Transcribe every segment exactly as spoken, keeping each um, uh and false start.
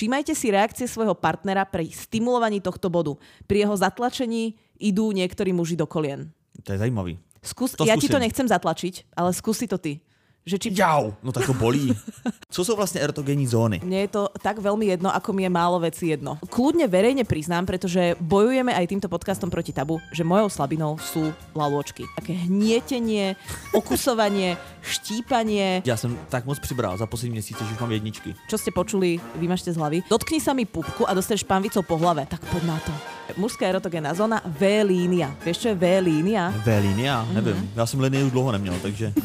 Všímajte si reakcie svojho partnera pri stimulovaní tohto bodu. Pri jeho zatlačení idú niektorí muži do kolien. To je zajímavý. Skús, ja ti to nechcem zatlačiť, ale skúsi to ty. Že či... Jau, no tak to bolí. Co sú vlastne erotogenní zóny? Mne je to tak veľmi jedno, ako mi je málo veci jedno. Kľudne verejne priznám, pretože bojujeme aj týmto podcastom proti tabu, že mojou slabinou sú lalôčky. Také hnietenie, okusovanie, štípanie. Ja som tak moc přibral za poslední měsíce, že už mám jedničky. Čo ste počuli, vymažte z hlavy. Dotkni sa mi pupku a dostaneš pánvicou po hlave. Tak poď na to. Mužská erotogénna zóna V-línia. Vieš, čo je V-línia? V-línia? Mm-hmm. Nevím. Já jsem linii už dlouho neměl, takže...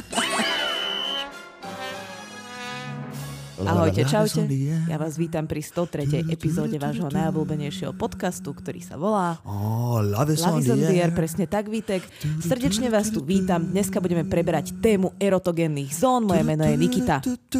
Ahojte, čaute. Ja vás vítam pri sto tretej epizóde vášho najobľúbenejšieho podcastu, ktorý sa volá oh, Love is on the air. Presne tak, Vítek. Srdečne vás tu vítam. Dneska budeme preberať tému erotogénnych zón. Moje meno je Nikita.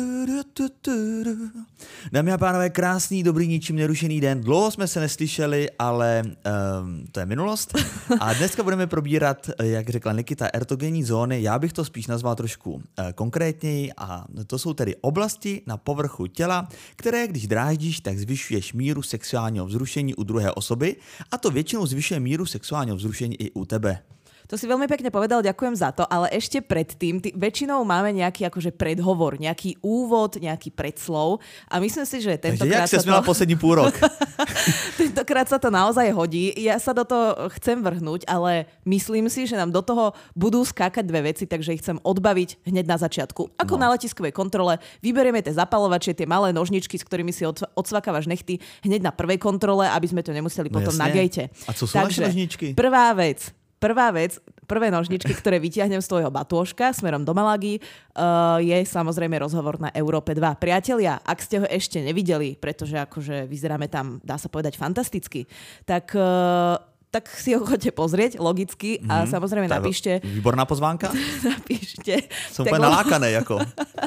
Dámy a pánové, krásný, dobrý, ničím nerušený den. Dlouho jsme se neslyšeli, ale um, to je minulost. A dneska budeme probírat, jak řekla Nikita, erotogénní zóny. Já bych to spíš nazval trošku uh, konkrétněji a to jsou tedy oblasti na povrchu těla, které když dráždíš, tak zvyšuješ míru sexuálního vzrušení u druhé osoby a to většinou zvyšuje míru sexuálního vzrušení i u tebe. To si veľmi pekne povedal, ďakujem za to, ale ešte predtým, ty, väčšinou máme nejaký akože predhovor, nejaký úvod, nejaký predslov a myslím si, že tentokrát sa to... Jak sa poslední půl rok? Tentokrát sa to naozaj hodí. Ja sa do toho chcem vrhnúť, ale myslím si, že nám do toho budú skákať dve veci, takže ich chcem odbaviť hneď na začiatku. Ako no. Na letiskovej kontrole vyberieme tie zapalovačie, tie malé nožničky, s ktorými si odsvakávaš nechty hneď na prvej kontrole, aby sme to nemuseli no, potom jasne. Na gejte. A co sú naše nožničky? Prvá vec. Prvá vec, prvé nožničky, ktoré vytiahnem z tvojho batôžka smerom do Malagy, uh, je samozrejme rozhovor na Európe dva. Priatelia, ak ste ho ešte nevideli, pretože akože vyzeráme tam, dá sa povedať, fantasticky, tak... Uh, tak si ho chodte pozrieť, logicky, a mm, samozrejme napíšte... Výborná pozvánka? Napíšte. Som úplne nalákaný, ako.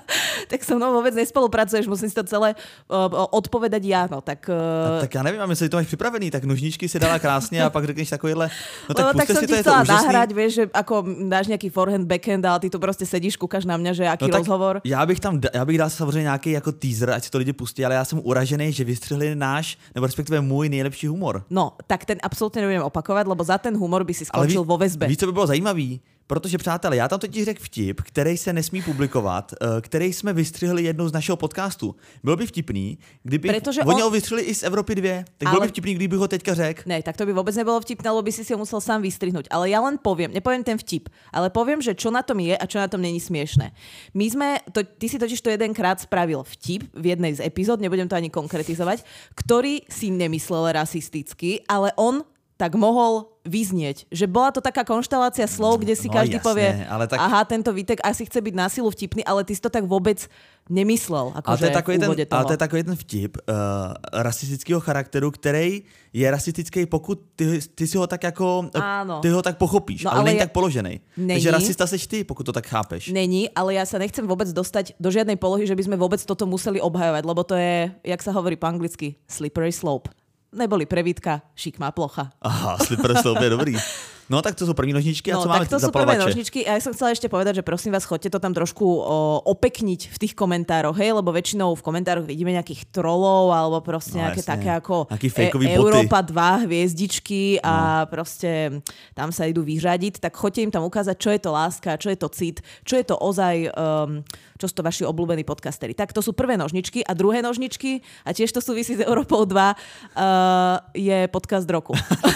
Tak so mnou vôbec nespolupracuješ, musím si to celé uh, odpovedať ja, no tak... Uh... Tak ja neviem, a myslíš, že to máš pripravený, tak nožničky si dala krásne a pak řekneš takovýhle... No tak, no, tak som si ti to, chcela je to nahrať, vieš, že ako dáš nejaký forehand, backhand, ale ty tu proste sedíš, kúkaš na mňa, že aký no, rozhovor. Já bych tam, já bych dal samozřejmě nějaký jako teaser, ať si to lidi pustí, ale já jsem uražený, že vystřihli náš, nebo respektive můj nejlepší humor. No, tak ten absolútne nebudem opakovať, lebo za ten humor by si skončil ví, vo väzbe. Víš, co by bylo zajímavý? Protože, přátelé, já tam totiž řekl vtip, který se nesmí publikovat, který jsme vystřihli jednou z našeho podcastu. Bylo by vtipný, kdyby oni ho vystřihli i z Evropy dvě, tak ale... bylo by vtipný, kdyby ho teďka řekl. Ne, tak to by vôbec nebolo vtipné, lebo by si si ho musel sám vystrihnúť. Ale ja len poviem, nepoviem ten vtip, ale poviem, že čo na tom je a čo na tom není smiešné. My sme, to, ty si totiž to jedenkrát spravil vtip v jednej z epizód, nebudem to ani konkretizovať, ktorý si nemyslel rasisticky, ale on tak mohol vyznieť. Že bola to taká konštelácia slov, kde si no, každý jasné, povie, ale tak... aha, tento Vítek asi chce byť na silu vtipný, ale ty si to tak vôbec nemyslel. Ako ale, to je takový ten, ale to je takový ten vtip uh, rasistického charakteru, který je rasistický, pokud ty, ty si ho tak jako, áno. Ty ho tak pochopíš, no, ale, ale není je... tak položený. Není. Takže rasista seš ty, pokud to tak chápeš. Není, ale ja sa nechcem vôbec dostať do žiadnej polohy, že by sme vôbec toto museli obhajovať, lebo to je, jak sa hovorí po anglicky, slippery slope. Neboli prevítka, šikmá plocha. Aha, slippery slope je dobrý. No tak to sú první nožničky a no, co máme zapalovače? No tak to sú prvé nožničky a ja som chcela ešte povedať, že prosím vás, choďte to tam trošku o, opekniť v tých komentároch, hej, lebo väčšinou v komentároch vidíme nejakých trolov alebo proste no, nejaké jasne. Také ako e- Európa dva hviezdičky a no. Proste tam sa idú vyřadiť, tak choďte im tam ukázať, čo je to láska, čo je to cit, čo je to ozaj, um, čo sú to vaši obľúbení podcasteri. Tak to sú prvé nožničky a druhé nožničky a tiež to súvisí s Európou dva uh, je podcast roku.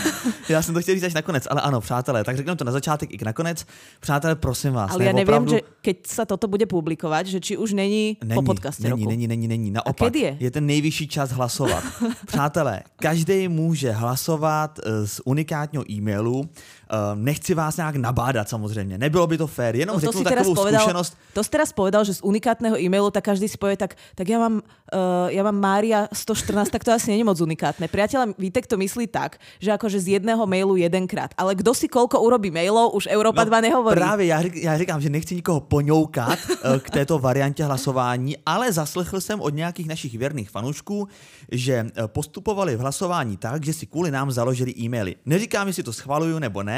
Ja som to chtěl říct až nakonec, ale áno, přátelé, tak řekneme to na začátek i nakonec. Přátelé, prosím vás. Ale ja neviem, opravdu... že keď sa toto bude publikovať, že či už není, není po podcaste není, roku. Není, není, není. Naopak, a kedy je? Je ten nejvyšší čas hlasovat. Přátelé, každý může hlasovat z unikátního e-mailu. Nechci vás nějak nabádat samozřejmě. Nebylo by to fér, jenom no to řeknu takovou povedal, skúsenosť. To si teraz povedal, že z unikátneho e-mailu, tak každý si povie, tak, tak ja mám, uh, ja mám Mária sto štrnásť, tak to asi nie je moc unikátne. Priateľ Vítek to myslí tak, že akože z jedného mailu jedenkrát. Ale kdo si koľko urobí mailov, už Európa dva no, nehovorí. Právě, já, já říkám, že nechci nikoho poňoukat k této variantě hlasování, ale zaslechl jsem od nějakých našich věrných fanoušků, že postupovali v hlasování tak, že si kvůli nám založili e-maily. Neříkám, jestli to schvaluju nebo ne,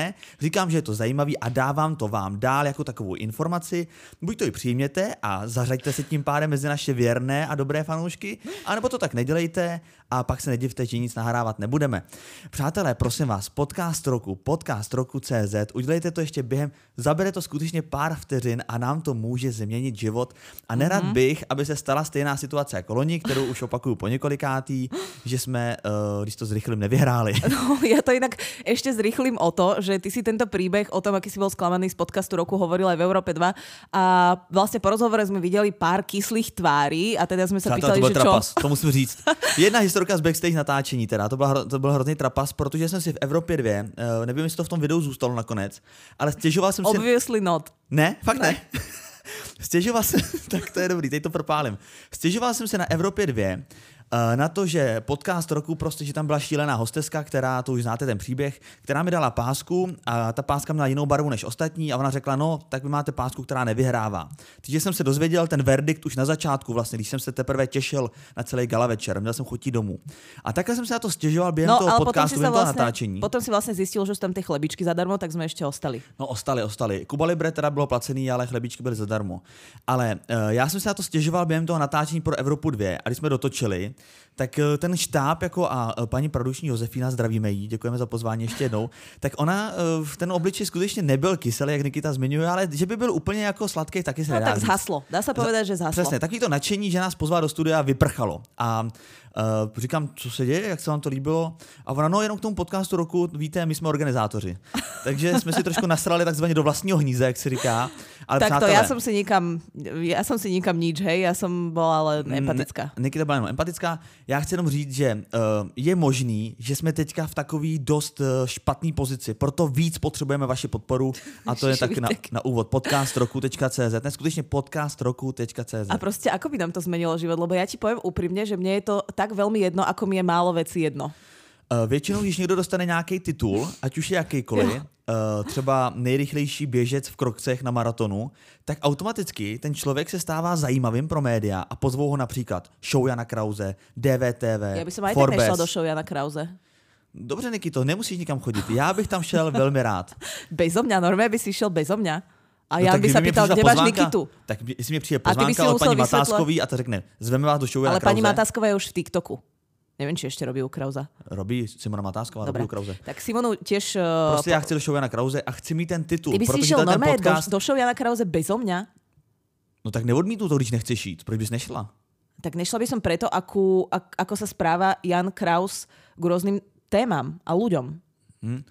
ne, říkám, že je to zajímavý a dávám to vám dál jako takovou informaci. Buď to i přijměte a zařaďte se tím pádem mezi naše věrné a dobré fanoušky, anebo to tak nedělejte a pak se nedivte, že nic nahrávat nebudeme. Přátelé, prosím vás, podcast roku, podcast roku tečka cé zet, udělejte to ještě během, zabere to skutečně pár vteřin a nám to může změnit život. A nerad mm-hmm. bych, aby se stala stejná situace jako loni, kterou už opakuju po několikátý, že jsme, uh, když to zrychlím, nevyhráli. No, ja to inak ešte zrychlím o to, že ty si tento príbeh o tom, aký si bol sklamaný z podcastu roku, hovoril aj v Európe dva a vlastne po rozhovore sme videli pár kyslých tváří a teda sme sa Přátelé, pýtali, to že trapas, čo? To musím říct. Jedna historka z backstage natáčení teda, to, byla, to byl hrozný trapas, protože jsem si v Evropě dvě, uh, nevím, jestli to v tom videu zůstalo nakonec, ale stěžoval jsem si... Obviously not. Ne, fakt ne. ne. Stěžoval jsem, tak to je dobrý, teď to propálím. Stěžoval jsem se na Evropě dvě, na to, že podcast roku, prostě, že tam byla šílená hosteska, která, to už znáte ten příběh, která mi dala pásku a ta páska měla jinou barvu než ostatní a ona řekla, no, tak vy máte pásku, která nevyhrává. Takže jsem se dozvěděl ten verdikt už na začátku, vlastně, když jsem se teprve těšil na celý gala večer, měl jsem chuť domů. A takhle jsem se na to stěžoval během no, toho podcastu, během vlastně, toho natáčení. Potom si vlastně zjistil, že jsou tam ty chlebičky zadarmo, tak jsme ještě ostali. No, ostali, ostali. Kuba Libre teda bylo placený, ale chlebičky byly zadarmo. Ale uh, já jsem se na to stěžoval během toho natáčení pro Evropu dvě a když jsme dotočili, tak ten štáb jako a paní produční Josefína, zdravíme jí, děkujeme za pozvání ještě jednou, tak ona v ten obličej skutečně nebyl kyselý, jak Nikita zmiňuje, ale že by byl úplně jako sladký, taky se no, nedá tak říct. zhaslo, dá se povedat, že zhaslo. Přesně, takový to nadšení, že nás pozval do studia, vyprchalo. A Uh, říkám, co se děje, jak se vám to líbilo? A ona, no jenom k tomu podcastu roku, víte, my jsme organizátoři. Takže jsme si trošku nasrali takzvaně do vlastního hnízda, jak se říká. Ale tak přátelé, to, já jsem si nikam, já jsem si nikam nič, hej, já jsem byla ale empatická. Ne, Nikita byla jenom empatická. Já chci jenom říct, že uh, je možný, že jsme teďka v takový dost uh, špatný pozici, proto víc potřebujeme vaši podporu a to je tak na, na úvod podcast roku tečka cé zet, ne, skutečně podcast roku tečka cé zet. A prostě ako by nám to zmenilo život, lebo ja ti poviem úprimne, že mne je to tak veľmi jedno, ako mi je málo vecí jedno. Uh, většinou, když někdo dostane nějaký titul, ať už je jakýkoliv, uh, třeba nejrychlejší běžec v krokcech na maratonu, tak automaticky ten člověk se stává zajímavým pro média a pozvou ho například show Jana Krause, dé vé té vé, Ja by som aj Forbes. tak nešla do show Jana Krause. Dobře, Nikito, nemusíš nikam chodit. Já bych tam šel velmi rád. Bezo mňa, normálne by si šel bezo mňa. A no, Jan by sa pýtal, kde máš Nikitu. Tak jestli mi přijde pozvánka od paní Matáskový a ta řekne, zveme vás do show Jana Ale Krause. paní Matásková je už v TikToku. Neviem, či ešte robí u Krauza. Robí Simona Matásková, robí u Krause. Tak Simonu tiež... Uh, prostě já chci do show Jana Krause a chci mít ten titul. Ty by si šiel normálne podcast... do, do show Jana Krause bezo mňa? No tak neodmítnu to, když nechceš jít. Proč bys nešla? Tak nešla by som preto, akú, ak, ako sa správa Jan Kraus k rôznym témam a ľuďom. Hmm.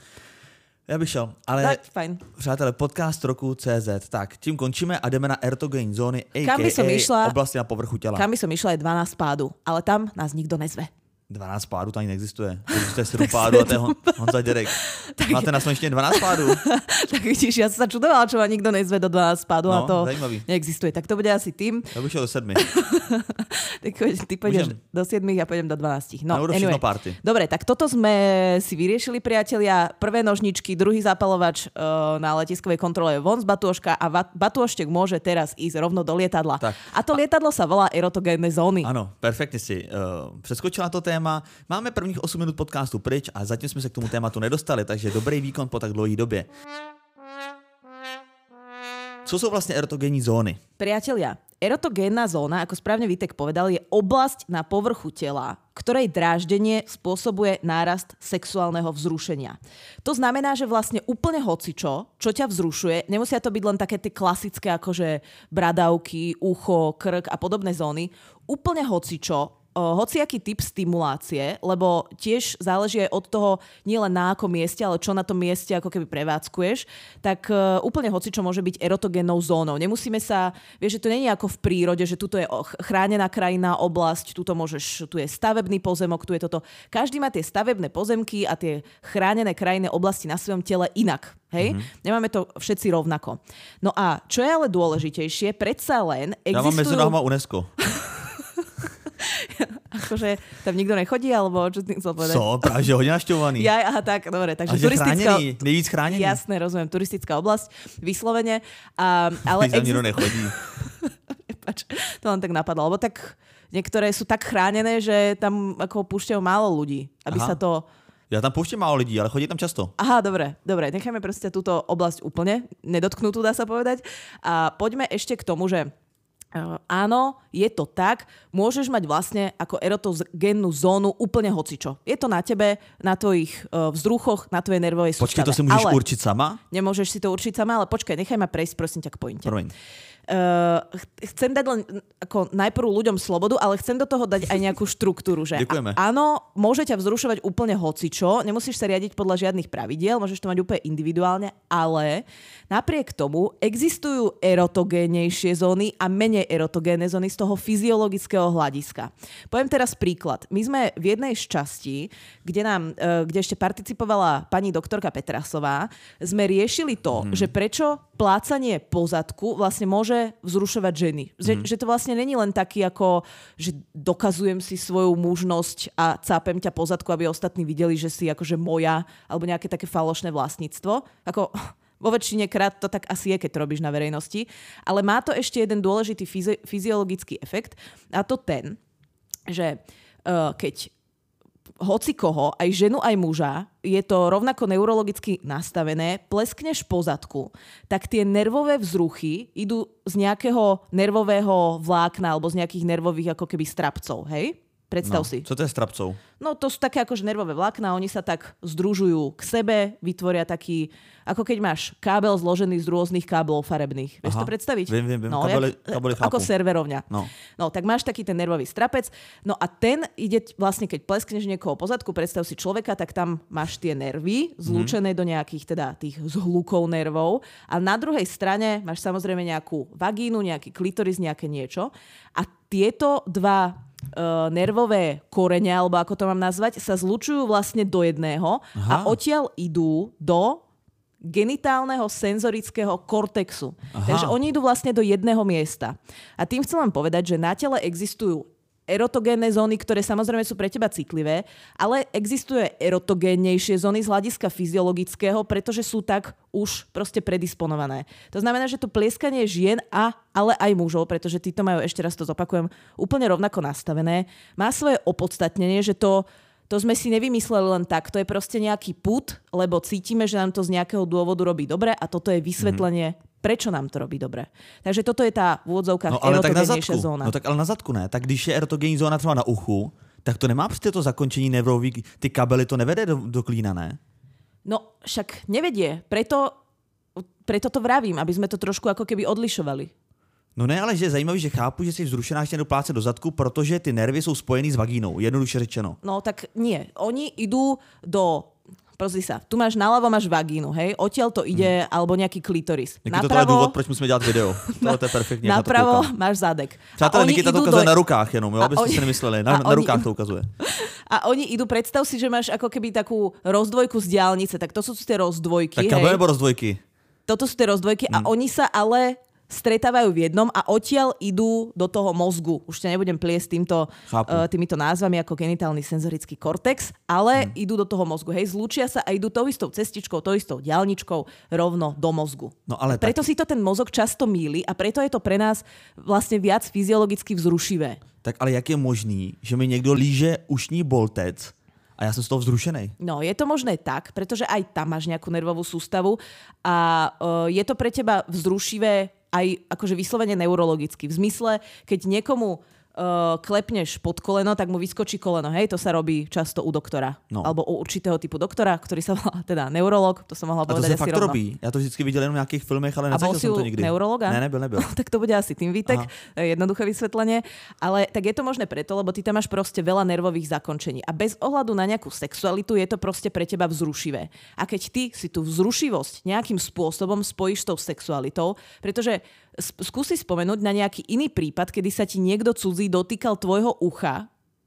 Já bych šel, ale tak, fajn. Přátelé, podcast roku tečka cé zet. Tak, tím končíme a jdeme na ertogenní zóny, a ká a oblasti na povrchu těla. Kam by som išla je dvanásť pádu, ale tam nás nikdo nezve. dvanásť pádů to ani neexistuje. Existuje sedm pádů a to je Hon, Honza Děrek. Máte na Slovensku dvanásť pádů? Tak vidíš, ja som sa čudovala, čo ma nikto nezve do dvanásť pádu no, a to zajímavý. Neexistuje. Tak to bude asi tým. Ja bych šel do sedmi. Tak ty pôjdeš do siedmich, ja pôjdem do dvanástich. No, no anyway. Party. Dobre, tak toto sme si vyriešili, priatelia. Prvé nožničky, druhý zapalovač uh, na letiskovej kontrole von z batôžka a va- batôžtek môže teraz ísť rovno do lietadla. Tak. A to lietadlo sa volá erotogénne zóny. Áno, perfektne si uh, preskočila to téma. Máme prvních osm minút podcastu pryč a zatím jsme se k tomu tématu nedostali, takže dobrý výkon po tak dlouhé době. Co jsou vlastně erotogenní zóny? Priatelia, erotogénna zóna, ako správne Vítek povedal, je oblasť na povrchu tela, ktorej dráždenie spôsobuje nárast sexuálneho vzrušenia. To znamená, že vlastne úplne hocičo, čo ťa vzrušuje, nemusia to byť len také tie klasické akože bradavky, ucho, krk a podobné zóny, úplne hocičo, hociaký typ stimulácie, lebo tiež záleží aj od toho nielen na akom mieste, ale čo na tom mieste ako keby prevádzkuješ, tak uh, úplne hocičo môže byť erotogénnou zónou. Nemusíme sa, vieš, že to nie je ako v prírode, že tuto je chránená krajinná oblasť, tuto môžeš, tu je stavebný pozemok, tu je toto. Každý má tie stavebné pozemky a tie chránené krajinné oblasti na svojom tele inak. Hej? Mm-hmm. Nemáme to všetci rovnako. No a čo je ale dôležitejšie, predsa len existujú... Ja mám medzi nohama UNESCO. Akože tam nikto nechodí, alebo čo ty chcel povedať? Co? Práve, že hodne našťovaný. Ja, aha, tak, dobre. Takže a že turistická... chránený, nejvíc chránený. Jasné, rozumiem, turistická oblasť, vyslovene. A, ale Když tam nikto nechodí. Pač, to len tak napadlo, lebo tak niektoré sú tak chránené, že tam ako púšťajú málo ľudí, aby aha. sa to... Ja tam pouštím málo lidí, ale chodí tam často. Aha, dobre, dobre. Necháme proste túto oblasť úplne nedotknutú, dá sa povedať. A poďme ešte k tomu, že Uh, áno, je to tak, môžeš mať vlastne ako erotogénnu zónu úplne hocičo. Je to na tebe, na tvojich uh, vzruchoch, na tvojej nervovej sústave. Počkej, to si môžeš ale určiť sama? Nemôžeš si to určiť sama, ale počkaj, nechaj ma prejsť, prosím ťa, k pointe. Promiň. Uh, chcem dať len ako najprv ľuďom slobodu, ale chcem do toho dať aj nejakú štruktúru. Že Ďakujeme. A, áno, môže ťa vzrušovať úplne hocičo, nemusíš sa riadiť podľa žiadnych pravidiel, môžeš to mať úplne individuálne, ale napriek tomu existujú erotogénnejšie zóny a menej erotogénne zóny z toho fyziologického hľadiska. Poviem teraz príklad. My sme v jednej z častí, kde, nám, uh, kde ešte participovala pani doktorka Petrasová, sme riešili to, hmm. že prečo plácanie po zadku vlastne môže vzrušovať ženy. Že, mm. že to vlastne není len taký ako, že dokazujem si svoju mužnosť a cápem ťa po zadku, aby ostatní videli, že si akože moja, alebo nejaké také falošné vlastníctvo. Ako vo väčšine krát to tak asi je, keď to robíš na verejnosti. Ale má to ešte jeden dôležitý fyzi- fyziologický efekt a to ten, že uh, keď hoci koho, aj ženu, aj muža, je to rovnako neurologicky nastavené, pleskneš po zadku, tak tie nervové vzruchy idú z nejakého nervového vlákna alebo z nejakých nervových ako keby strapcov, hej? Predstav no, si. Co to je strapcov? No to sú také akože nervové vlákna, oni sa tak združujú k sebe, vytvoria taký, ako keď máš kábel zložený z rôznych káblov farebných. Vieš to predstaviť? Viem, viem, viem. No, kábely, jak, kábely ako serverovňa. No. no, tak máš taký ten nervový strapec, no a ten ide vlastne, keď pleskneš niekoho po zadku, predstav si človeka, tak tam máš tie nervy zlúčené mm. do nejakých teda tých zhlukov nervov a na druhej strane máš samozrejme nejakú vagínu, nejaký klitoris, nejaké niečo a tieto dva Uh, nervové korene, alebo ako to mám nazvať, sa zlučujú vlastne do jedného. Aha. A odtiaľ idú do genitálneho senzorického kortexu. Aha. Takže oni idú vlastne do jedného miesta. A tým chcem vám povedať, že na tele existujú erotogénne zóny, ktoré samozrejme sú pre teba citlivé, ale existuje erotogénnejšie zóny z hľadiska fyziologického, pretože sú tak už proste predisponované. To znamená, že to plieskanie žien a ale aj mužov, pretože títo majú, ešte raz to zopakujem, úplne rovnako nastavené, má svoje opodstatnenie, že to To sme si nevymysleli len tak, to je proste nejaký pud, lebo cítime, že nám to z nejakého dôvodu robí dobre a toto je vysvetlenie, mm-hmm. prečo nám to robí dobre. Takže toto je tá v úvodzovkách no, erotogénnejšia zóna. No tak ale na zadku ne. Tak když je erotogénní zóna třeba na uchu, tak to nemá prostě to zakončení nervový, ty kabely to nevede do, do klína, ne? No však nevedie, preto, preto to vravím, aby sme to trošku ako keby odlišovali. No ne, ale že je zajímavý, že chápu, že jsi vzrušená, ještě jdu plácat do zadku, protože ty nervy jsou spojený s vagínou, jednoduše řečeno. No tak nie, oni idú do... Pozri sa, tu máš naľavo, máš vagínu, hej? Odtiaľ to ide, hmm. alebo nejaký klitoris. Nikita, napravo, to je důvod, proč musíme dělat video. To je perfektně. Napravo máš zadek. Přátelé, Nikita to ukazuje do... na rukách jenom, jo, abyste oni... si nemysleli. Na, na rukách idú... to ukazuje. A oni idú, predstav si, že máš ako keby takú rozdvojku z diaľnice, tak to sú tie rozdvojky. Tak kabel nebo rozdvojky? Toto sú tie rozdvojky hmm. a oni sa ale... stretávajú v jednom a odtiaľ idú do toho mozgu. Už ťa nebudem pliesť týmto, uh, týmito názvami ako genitálny senzorický kortex, ale hmm. idú do toho mozgu. Hej, zlúčia sa a idú tou istou cestičkou, tou istou diaľničkou rovno do mozgu. No, ale preto tak... si to ten mozog často mýli a preto je to pre nás vlastne viac fyziologicky vzrušivé. Tak ale jak je možný, že mi niekto líže ušní boltec a ja som z toho vzrušenej? No, je to možné tak, pretože aj tam máš nejakú nervovú sústavu a uh, je to pre teba vzrušivé aj akože vyslovene neurologicky. V zmysle, keď niekomu uh, klepneš pod koleno, tak mu vyskočí koleno. Hej, to sa robí často u doktora. No. Alebo u určitého typu doktora, ktorý sa volá teda neurolog. To som mohla povedať asi rovno. A to sa fakt robí. Ja to vždycky videl jenom v nejakých filmech, ale nezažil som to nikdy. A bol si u neurologa? Ne, nebyl, nebyl. Tak to bude asi tým výtek. Jednoduché vysvetlenie. Ale tak je to možné preto, lebo ty tam máš proste veľa nervových zakončení. A bez ohľadu na nejakú sexualitu je to proste pre teba vzrušivé. A keď ty si tú vzrušivosť nejakým spôsobom spojíš s tou sexualitou, pretože skúsi spomenúť na nejaký iný prípad, kedy sa ti niekto cudzí dotýkal tvojho ucha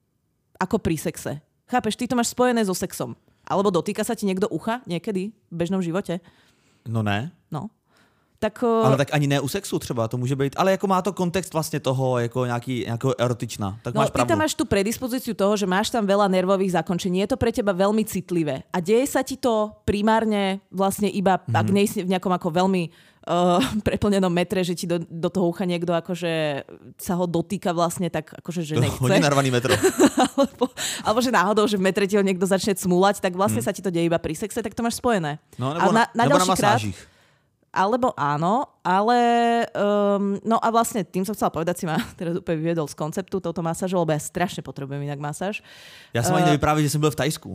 ako pri sexe. Chápeš, ty to máš spojené so sexom. Alebo dotýka sa ti niekto ucha niekedy v bežnom živote? No ne. No. Tak, ale tak ani ne u sexu třeba, to může být. Ale jako má to kontext vlastně toho, jako nějaký, nějakého erotičná. Tak no, máš pravdu. Ty tam máš tú predispozíciu toho, že máš tam veľa nervových zakončení. Je to pre teba veľmi citlivé. A deje sa ti to primárne vlastne iba, mm-hmm. ak nejsi v nejakom ako veľmi uh, preplnenom metre, že ti do, do toho ucha niekto akože sa ho dotýka vlastne tak akože, že nechce. Hodne narvaný metro. alebo, Alebo že náhodou, že v metre ti ho niekto začne cmúľať, tak vlastne hmm. sa ti to deje iba pri sexe, tak to máš spojené. No, nebo na, na, na, nebo na masážích. Krát, alebo áno, ale um, no a vlastne tým som chcela povedať, si ma teraz úplne vyviedol z konceptu touto masážou, lebo ja strašne potrebujem inak masáž. Ja som uh, ani nevyprávil, že som byl v Tajsku.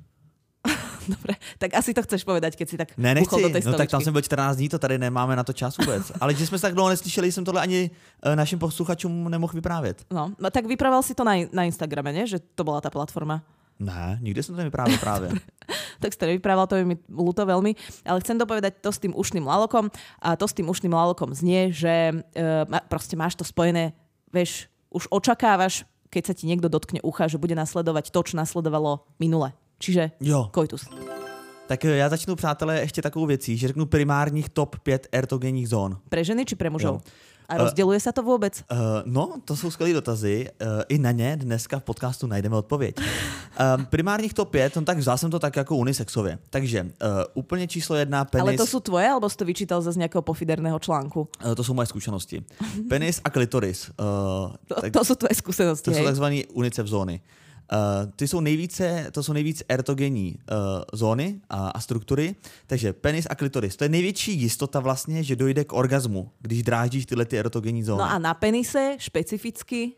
Dobre, tak asi to chceš povedať, keď si tak ne, nechci. do tej no tak tam jsem byl čtrnáct dní, to tady nemáme na to čas vůbec. Ale že jsme se tak dlouho neslyšeli, jsem tohle ani uh, našim posluchačům nemohl vyprávět. No, tak vyprával si to na, na Instagrame, ne? Že to bola tá platforma. Ne, nikdy som to nevyprávil práve. Tak si to nevyprával, to je mi ľúto veľmi. Ale chcem dopovedať to s tým ušným lalokom. A to s tým ušným lalokom znie, že uh, proste máš to spojené, vieš, už očakávaš, keď sa ti niekto dotkne ucha, že bude nasledovať to, čo nasledovalo minule. Čiže jo. Koitus. Tak já začnu, přátelé, ještě takovou věcí, že řeknu primárních top pět ertogenních zón. Pre ženy či pre mužov? Jo. A rozděluje uh, se to vůbec? Uh, no, to jsou skvělé dotazy. Uh, I na ně dneska v podcastu najdeme odpověď. Uh, primárních top pět, no tak vzal jsem to tak jako unisexově. Takže uh, úplně číslo jedna, penis... Ale to jsou tvoje, alebo jsi to vyčítal zase z nějakého pofiderného článku? Uh, to jsou moje zkušenosti. Penis a klitoris. Uh, to, tak, to jsou tvoje zkušenosti, To hej? jsou takzvaný unicef zóny. Uh, ty jsou nejvíce, to jsou nejvíc ertogenní uh, zóny a, a struktury, takže penis a klitoris. To je největší jistota vlastně, že dojde k orgazmu, když dráždíš tyhle ty ertogenní zóny. No a na penise špecificky?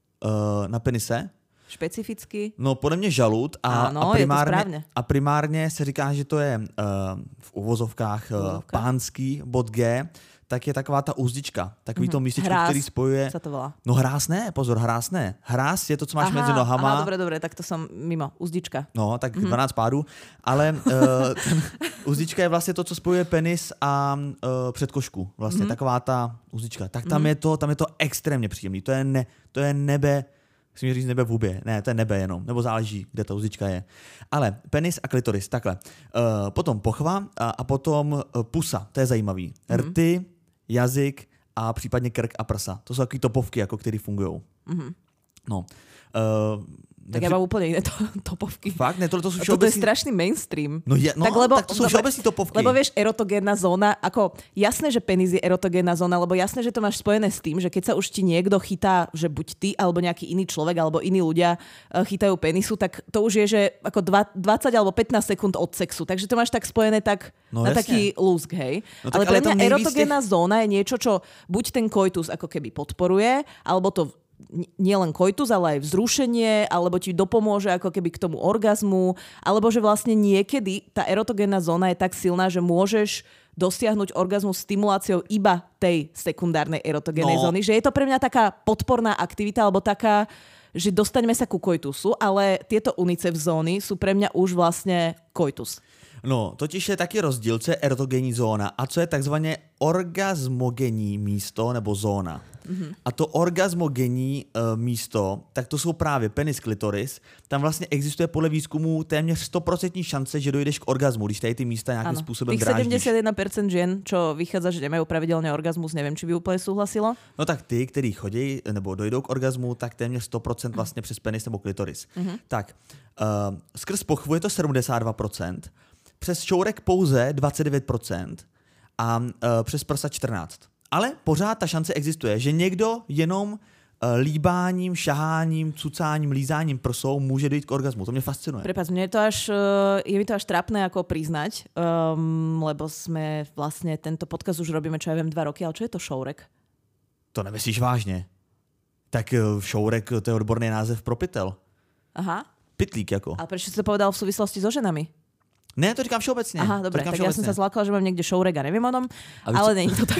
Uh, na penise? Špecificky? No podle mě žalud a, ano, a, primárně, a primárně se říká, že to je uh, v uvozovkách uh, pánský bod G, tak je taková ta úzdička, takový mm-hmm. to místečko, hráz, který spojuje... sa to volá. No hráz ne, pozor, hráz ne. Hráz je to, co máš aha, mezi nohama. Aha, dobre, dobre, tak to som mimo. Úzdička. No, tak mm-hmm. dvanáct pádů. Ale uh, ten, úzdička je vlastně to, co spojuje penis a uh, předkošku. Vlastně mm-hmm. taková ta úzdička. Tak tam, mm-hmm. je to, tam je to extrémně příjemný. To je, ne, to je nebe... Musím říct nebe v hubě. Ne, to je nebe jenom. Nebo záleží, kde ta úzdička je. Ale penis a klitoris, takhle. Uh, potom pochva a, a potom uh, pusa. To je zajímavý. Mm-hmm. Rty, jazyk a případně krk a prsa. To jsou takové topovky, jako které fungují. Mm-hmm. No. Uh, tak nepři... ja mám úplne iné to, topovky. Fakt? Ne, tohle to sú všeobecný... Toto je strašný mainstream. No, je, no tak, lebo, tak to sú všeobecný topovky. Lebo vieš, erotogénna zóna, ako jasné, že penis je erotogénna zóna, lebo jasné, že to máš spojené s tým, že keď sa už ti niekto chytá, že buď ty, alebo nejaký iný človek, alebo iní ľudia chytajú penisu, tak to už je, že ako dvadsať alebo pätnásť sekúnd od sexu. Takže to máš tak spojené tak no, na jasne. Taký lúsk, hej. No, ale pre mňa erotogénna tých... zóna je niečo, čo buď ten koitus ako keby podporuje, alebo to nie len koitus, ale aj vzrušenie, alebo ti dopomôže ako keby k tomu orgazmu, alebo že vlastne niekedy tá erotogénna zóna je tak silná, že môžeš dosiahnuť orgazmus stimuláciou iba tej sekundárnej erotogénnej no. zóny. Že je to pre mňa taká podporná aktivita, alebo taká, že dostaňme sa ku koitusu, ale tieto unicef zóny sú pre mňa už vlastne koitus. No, totiž je taky rozdíl, co je erotogénní zóna a co je takzvaně orgazmogenní místo nebo zóna. Mm-hmm. A to orgazmogenní uh, místo, tak to jsou právě penis, klitoris. Tam vlastně existuje podle výzkumu téměř sto procent šance, že dojdeš k orgazmu, když tady ty místa nějakým ano. způsobem dráždíš. Tých sedemdesiatjeden percent žien, čo vychádza, že nemajú pravidelne orgazmus, neviem, či by úplne súhlasilo. No tak ty, kteří chodí nebo dojdou k orgazmu, tak téměř sto procent vlastně přes penis nebo klitoris. Mm-hmm. Tak, uh, skrz pochvu je to sedmdesát dva procent, přes šourek pouze dvacet devět procent a uh, přes prsa čtrnáct procent. Ale pořád ta šance existuje, že někdo jenom uh, líbáním, šaháním, cucáním, lízáním prsou může dojít k orgazmu. To mě fascinuje. Prepáč, mne to až, uh, je mi to až trápne ako priznať, um, lebo sme vlastne tento podcast už robíme, čo ja viem, dva roky, ale čo je to šourek? To nemyslíš vážně. Tak uh, šourek, to je odborný název pro pytel. Aha. Pytlík jako. A prečo si to povedal v súvislosti so ženami? Ne, to říkám všeobecně. Aha, dobré, tak všeobecně. Ja som sa zlákala, že mám niekde šourek a neviem o tom, ale není to tak.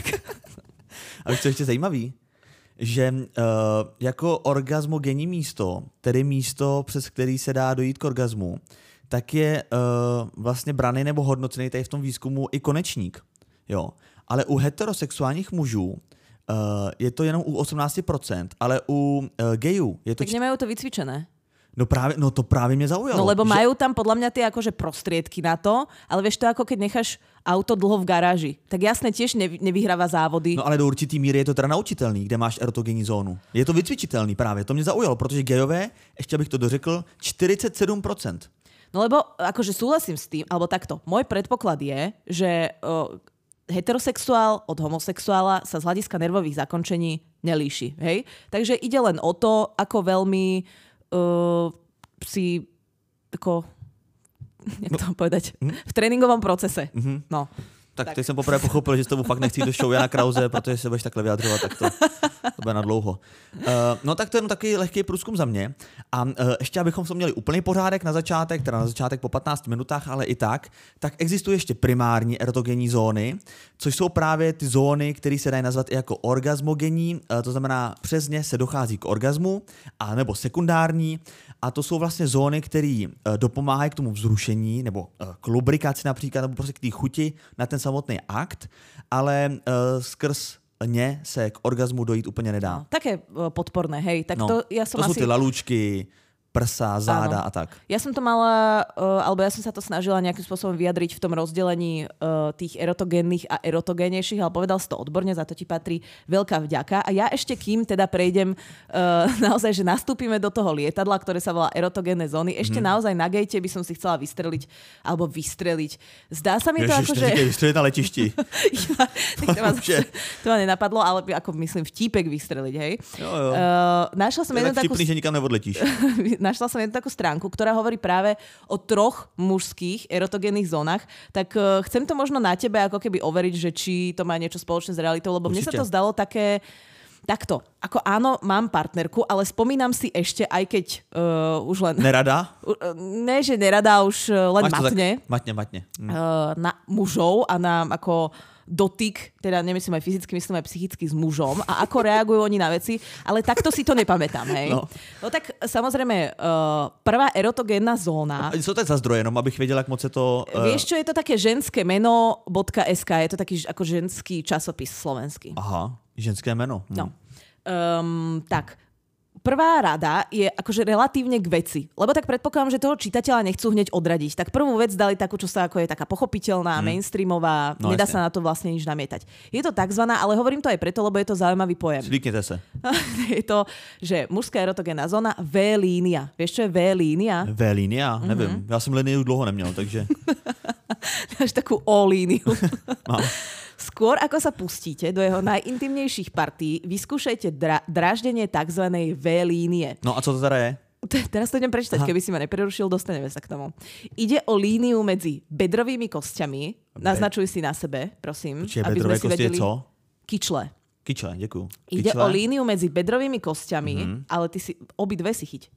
A víš, co ještě zajímavý? Že uh, jako orgazmogenní místo, tedy místo, přes který se dá dojít k orgazmu, tak je uh, vlastně braný nebo hodnocený tady v tom výzkumu i konečník. Jo. Ale u heterosexuálních mužů uh, je to jenom u osmnáct procent, ale u uh, gejů je to... Tak nemajú to vycvičené. No práve, no to práve mňa zaujalo. No lebo že... majú tam podľa mňa tie akože prostriedky na to, ale vieš to ako keď necháš auto dlho v garáži. Tak jasne tiež nevy, nevyhráva závody. No ale do určitý míry je to teda naučitelný, kde máš erotogenní zónu. Je to vycvičitelný právě, to mě zaujalo, protože gejové, ještě abych to dořekl, čtyřicet sedm procent. No lebo akože súhlasím s tým, alebo takto, môj predpoklad je, že o, heterosexuál od homosexuála sa z hľadiska nervových zakončení nelíši. Hej? Takže ide len o to, ako veľmi Uh, si ako, jak to mám povedať, v tréninkovom procese. Mm-hmm. No. Tak, tak teď jsem poprvé pochopil, že s tebou fakt nechci do show Jana Krause, protože se budeš takhle vyjadřovat, tak to, to bude na dlouho. Uh, no tak to je jenom takový lehký průzkum za mě. A uh, ještě abychom to měli úplný pořádek na začátek, teda na začátek po patnácti minutách, ale i tak, tak existují ještě primární erotogenní zóny, což jsou právě ty zóny, které se dají nazvat i jako orgasmogenní, uh, to znamená přes ně se dochází k orgasmu, a nebo sekundární. A to jsou vlastně zóny, které uh, dopomáhají k tomu vzrušení, nebo uh, k lubrikaci například, nebo prostě k té chuti na ten samotný akt, ale uh, skrz ně se k orgazmu dojít úplně nedá. No, také uh, podporné, hej. Tak no, to, ja som to asi... sú tie lalúčky, prsa, záda Áno. a tak. Ja som to mala, uh, alebo ja som sa to snažila nejakým spôsobom vyjadriť v tom rozdelení uh, tých erotogénnych a erotogénejších, ale povedal si to odborne, za to ti patrí veľká vďaka. A ja ešte kým teda prejdem uh, naozaj, že nastúpime do toho lietadla, ktoré sa volá erotogénne zóny, ešte hmm. naozaj na gate by som si chcela vystreliť, alebo vystreliť. Zdá sa mi to Ježiš, ako, že... Ježiš, vystreliť na letišti. ja, to, ma, to ma nenapadlo, ale ako myslím vtípek vystreliť, hej. Jo, jo. Uh, našla som jednu takú... vtipný, že nikam neodletíš. Našla som jednu takú stránku, ktorá hovorí práve o troch mužských erotogénnych zónach, tak uh, chcem to možno na tebe ako keby overiť, že či to má niečo spoločné s realitou, lebo Určite. Mne sa to zdalo také takto. Ako áno, mám partnerku, ale spomínam si ešte, aj keď uh, už len... Nerada? Uh, ne, že nerada, už uh, len Máš matne. Tak, matne, matne. Hm. Uh, na mužov a na ako... dotyk, teda nemyslím aj fyzicky, myslím aj psychicky s mužom a ako reagujú oni na veci, ale takto si to nepamätám, hej. No, no tak samozrejme, uh, prvá erotogénna zóna... Co to je za zdroje, jenom abych vedela, jak moc je to... Uh... Vieš čo, je to také ženské meno .sk, je to taký ako ženský časopis slovenský. Aha, ženské meno. Hm. No. Um, tak, prvá rada je akože relatívne k veci. Lebo tak predpokladám, že toho čitateľa nechcú hneď odradiť. Tak prvú vec dali takú, čo sa ako je taká pochopiteľná, hmm. mainstreamová, no, nedá jasne. Sa na to vlastne nič namietať. Je to takzvaná, ale hovorím to aj preto, lebo je to zaujímavý pojem. Zvyknete sa. Je to, že mužská erotogénna zóna V-línia. Vieš, čo je V-línia? V-línia? Mm-hmm. Neviem. Ja som líniu dlouho neměl, takže... Máš takú O-líniu. Mám. Skôr ako sa pustíte do jeho najintimnejších partí, vyskúšajte dra- dráždenie tzv. V-línie. No a co to teda je? Teraz to idem prečítať, Aha. keby si ma neprerušil, dostaneme sa k tomu. Ide o líniu medzi bedrovými kostiami. Be- Naznačuj si na sebe, prosím. Čiže bedrové kosti je co? Kyčle. Kyčle, ďakujem. Ide o líniu medzi bedrovými kostiami, mm-hmm. ale ty si obidve si chyť.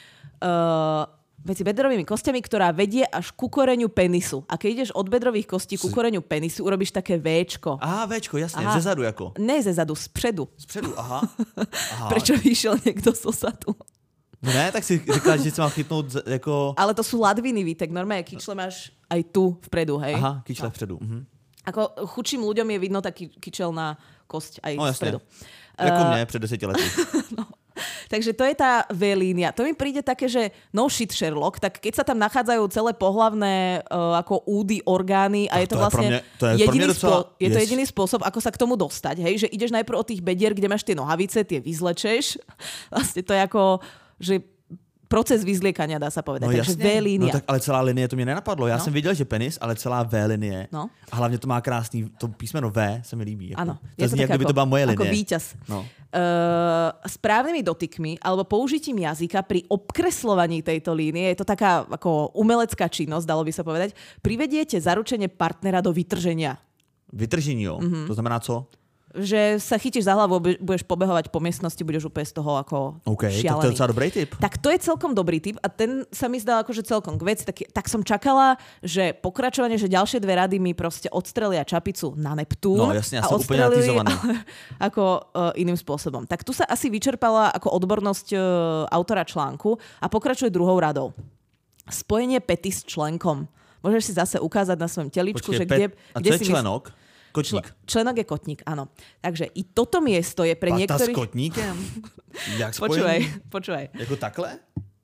Uh, medzi bedrovými kostiami, ktorá vedie až ku koreňu penisu. A keď ideš od bedrových kostí ku koreňu penisu, urobíš také Véčko. Aha, Véčko, jasne. Aha. Zezadu jako? Ne zezadu, spredu. Spredu, aha. aha. Prečo vyšiel niekto z osadu? No ne, tak si říkáš, že si mám chytnout jako... Ale to sú ladviny, Vítek. Normálne kyčle máš aj tu vpredu, hej? Aha, kyčle no. vpredu. Mhm. Ako chudším ľuďom je vidno taký kyčelná kosť aj no, vpredu. Jako uh, mne pred deseti lety. no. Takže to je tá V-línia. To mi príde také, že no shit Sherlock, tak keď sa tam nachádzajú celé pohlavné uh, ako údy, orgány a tak je to, to vlastne je mňa, to je jediný, docela, spô- je yes. to jediný spôsob, ako sa k tomu dostať. Hej? Že ideš najprv od tých bedier, kde máš tie nohavice, tie vyzlečeš. Vlastne to je ako, že proces vyzliekania, dá sa povedať. No, takže V-línia. No tak ale celá linie to mě nenapadlo. Já no. jsem viděl, že penis, ale celá V-linie. No. A hlavně to má krásný, to písmeno V se mi líbí. Jako. Ano. To zní, jak by to byla moje linie. Ako víťaz. No. Uh, správnymi dotykmi alebo použitím jazyka pri obkreslovaní tejto línie, je to taká ako umelecká činnosť, dalo by sa povedať, privediete zaručenie partnera do vytrženia. Vytržení, jo? Mm-hmm. To znamená co? Že sa chytíš za hlavu, budeš pobehovať po miestnosti, budeš úplne z toho ako okay, šialený. Tak to je docela dobrý tip. Tak to je celkom dobrý tip a ten sa mi zdal akože celkom k veci. Tak, tak som čakala, že pokračovanie, že ďalšie dve rady mi proste odstrelia čapicu na Neptún. No jasne, ja som úplne natizovaný. Ako uh, iným spôsobom. Tak tu sa asi vyčerpala ako odbornosť uh, autora článku a pokračuje druhou radou. Spojenie pety s členkom. Môžeš si zase ukázať na svojom teličku, Počkej, že kde, pet... a kde co si je členok? Mysl... Kotník. Čl- členok je kotník, áno. Takže i toto miesto je pre Pata niektorých... s kotníkem? Jak spojení? Počúvaj, počúvaj. Jako takhle?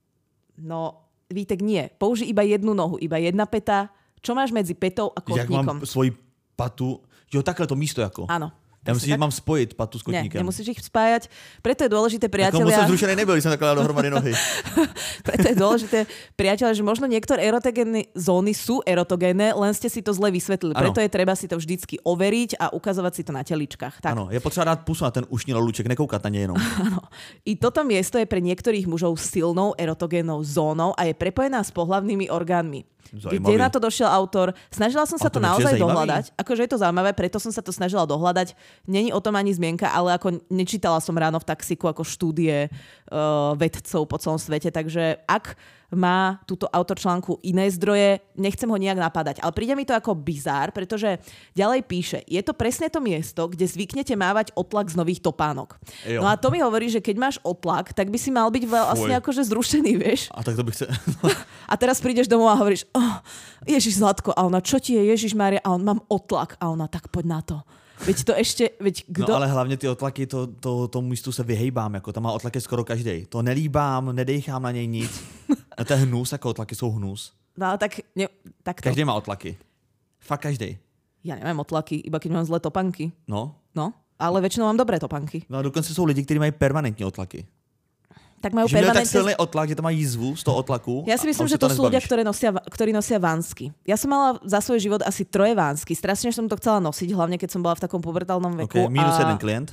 No, Vítek, nie. Použij iba jednu nohu, iba jedna peta. Čo máš medzi petou a kotníkom? Jak mám svoji patu... Jo, takhle to místo jako. Áno. Ja musím, tak... mám spojiť patu s kotníkem. Nie, nemusíš ich spájať. Preto je dôležité, priatelia... Ako som zrušený nebyl, som nakladal dohromady nohy. Preto je dôležité, priatelia, že možno niektoré erotogénne zóny sú erotogénne, len ste si to zle vysvetlili. Ano. Preto je treba si to vždycky overiť a ukazovať si to na teličkách. Áno, je potřeba dát pusu na ten ušný lolúček, nekoukať na nej jenom. Áno. I toto miesto je pre niektorých mužov silnou erotogénnou zónou a je prepojená s pohlavnými orgánmi. Zaujímavý. Kde na to došiel autor? Snažila som sa to, to naozaj dohľadať. Akože je to zaujímavé, preto som sa to snažila dohľadať. Není o tom ani zmienka, ale ako nečítala som ráno v taxiku ako štúdie uh, vedcov po celom svete. Takže ak má túto autor článku iné zdroje, nechcem ho nejak napadať. Ale príde mi to ako bizár, pretože ďalej píše, je to presne to miesto, kde zvyknete mávať otlak z nových topánok. Jo. No a to mi hovorí, že keď máš otlak, tak by si mal byť vlastne akože zrušený, vieš. A tak to by chce... A teraz prídeš domov a hovoríš, oh, Ježiš Zlatko, a ona, čo ti je, Ježiš Mária, a on, mám otlak. A ona, tak poď na to. Veď to ešte, veď kdo... No ale hlavně ty otlaky, to, to, tomu místu se vyhejbám, jako tam má otlaky skoro každej. To nelíbám, nedejchám na něj nic. A to je hnus, jako otlaky jsou hnus. No ale tak, ne, tak to. Každý má otlaky. Fakt každej. Ja nemám otlaky, iba keď mám zlé topanky. No. No, ale väčšinou mám dobré topanky. No a dokonce jsou lidi, kteří mají permanentní otlaky. Tak majú že permanentne... tak silný otlak, že tam má jízvu z toho otlaku. Ja si myslím, že to sú ľudia, ktorí nosia, ktorí nosia vánsky. Ja som mala za svoj život asi troje vánsky. Strašne som to chcela nosiť, hlavne keď som bola v takom pubertálnom veku. Okay, minus a... jeden klient.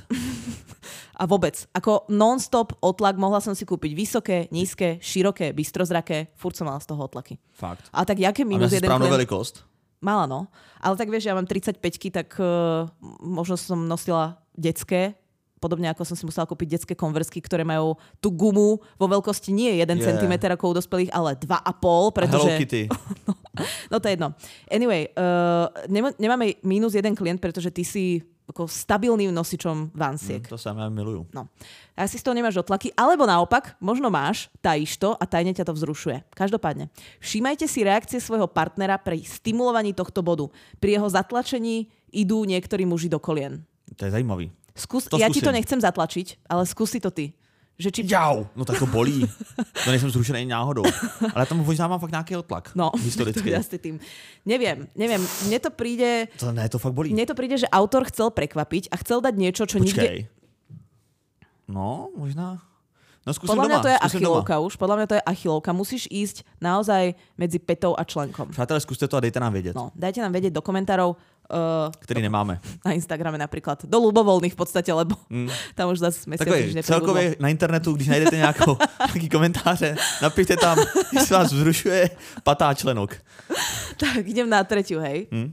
A vôbec. Ako non-stop otlak mohla som si kúpiť vysoké, nízke, široké, bystrozraké. Furt som mala z toho otlaky. Fakt. A tak jaké minus jeden klient? A veľkosť? Mala, no. Ale tak vieš, ja mám tridsaťpäťky, tak uh, možno som nosila detské. Podobne ako som si musela kúpiť detské konverzky, ktoré majú tú gumu vo veľkosti nie jeden yeah. centimeter ako u dospelých, ale dva a pol, pretože... Hello Kitty. no, no to je jedno. Anyway, uh, nemáme minus jeden klient, pretože ty si ako stabilným nosičom vansiek. Mm, to sa ja milujú. No. A asi z toho nemáš otlaky, alebo naopak, možno máš, tajíš to a tajne ťa to vzrušuje. Každopádne, všímajte si reakcie svojho partnera pri stimulovaní tohto bodu. Pri jeho zatlačení idú niektorí muži do kolien. To je zajímavý. Skús, ja ti to nechcem zatlačiť, ale skúsi to ty. Že či... Jau, no tak to bolí. To nejsem zrušený náhodou. Ale tam možná mám fakt nejaký otlak. No, historicky. Ja tým. Neviem, neviem. Mne to príde... To ne, to fakt bolí. Mne to príde, že autor chcel prekvapiť a chcel dať niečo, čo Počkej. nikde... No, možná... No skúsim podľa mňa doma. to je achilovka už. Podľa mňa to je achilovka. Musíš ísť naozaj medzi petou a členkom. Přátelé, skúste to a dejte nám vedieť. No, dajte nám vedieť do komentárov. Uh, Ktorý do, nemáme. Na Instagrame napríklad. Do ľubovoľných v podstate, lebo mm. tam už zase mesiac už neprebudlo. Celkově na internetu, když najdete nějakou, nějaký komentáře, napište tam, jestli vás vzrušuje patá členok. Tak, idem na tretiu, hej. Mm.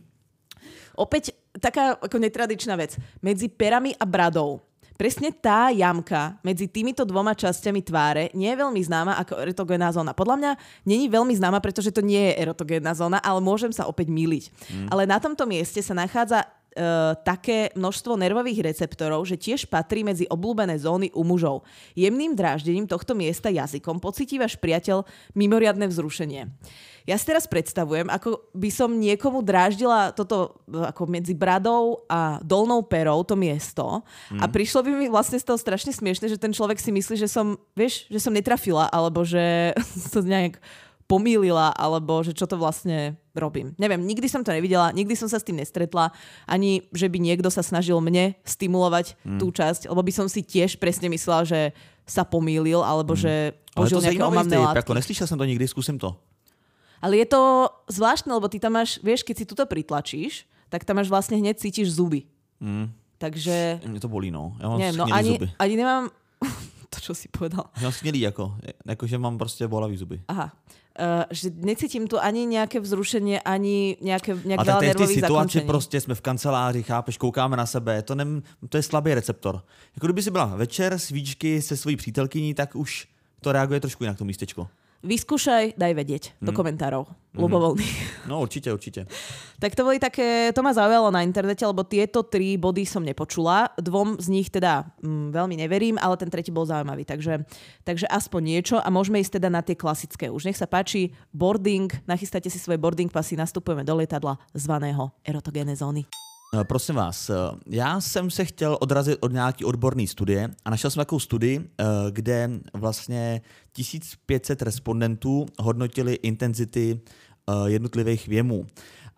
Opäť taká ako netradičná vec. Medzi perami a bradou. Presne tá jamka medzi týmito dvoma časťami tváre nie je veľmi známa ako erotogénna zóna. Podľa mňa nie je veľmi známa, pretože to nie je erotogénna zóna, ale môžem sa opäť mýliť. Mm. Ale na tomto mieste sa nachádza Uh, také množstvo nervových receptorov, že tiež patrí medzi obľúbené zóny u mužov. Jemným dráždením tohto miesta jazykom pocíti váš priateľ mimoriadne vzrušenie. Ja si teraz predstavujem, ako by som niekomu dráždila toto ako medzi bradou a dolnou perou to miesto mm. a prišlo by mi vlastne z toho strašne smiešne, že ten človek si myslí, že som, vieš, že som netrafila, alebo že sa nejak pomýlila, alebo že čo to vlastne robím. Neviem, nikdy som to nevidela, nikdy som sa s tým nestretla, ani že by niekto sa snažil mne stimulovať mm. tú časť, lebo by som si tiež presne myslela, že sa pomýlil, alebo mm. že použil nejaké omamné látky. Ako neslyšel som to nikdy, skúsim to. Ale je to zvláštne, lebo ty tam máš, vieš, keď si tuto pritlačíš, tak tam máš vlastne hneď cítiš zuby. Mm. Takže... Mne to bolí, no. Ja mám neviem, no ani, zuby. Ani nemám... to, čo si povedal. Ja mám smelý, ako. Ako, že mám proste bolavý zuby. Aha. Uh, že necítim tu ani nejaké vzrušenie, ani nejaké, nejak a veľa nervových zakončení. A prostě jsme v kanceláři, chápeš, koukáme na sebe, to, nem, to je slabý receptor. Jako kdyby si byla večer, svíčky se svojí přítelkyní, tak už to reaguje trošku jinak to místečko. Vyskúšaj, daj vedieť hmm. do komentárov. Ľubovoľný. No určite, určite. Tak to boli také, to ma zaujalo na internete, lebo tieto tri body som nepočula. Dvom z nich teda mm, veľmi neverím, ale ten tretí bol zaujímavý. Takže, takže aspoň niečo a môžeme ísť teda na tie klasické. Už nech sa páči, boarding, nachystáte si svoje boarding pasy, nastupujeme do lietadla zvaného erotogénne zóny. Prosím vás, já jsem se chtěl odrazit od nějaký odborné studie a našel jsem takovou studii, kde vlastně tisíc pět set respondentů hodnotili intenzity jednotlivých věmů.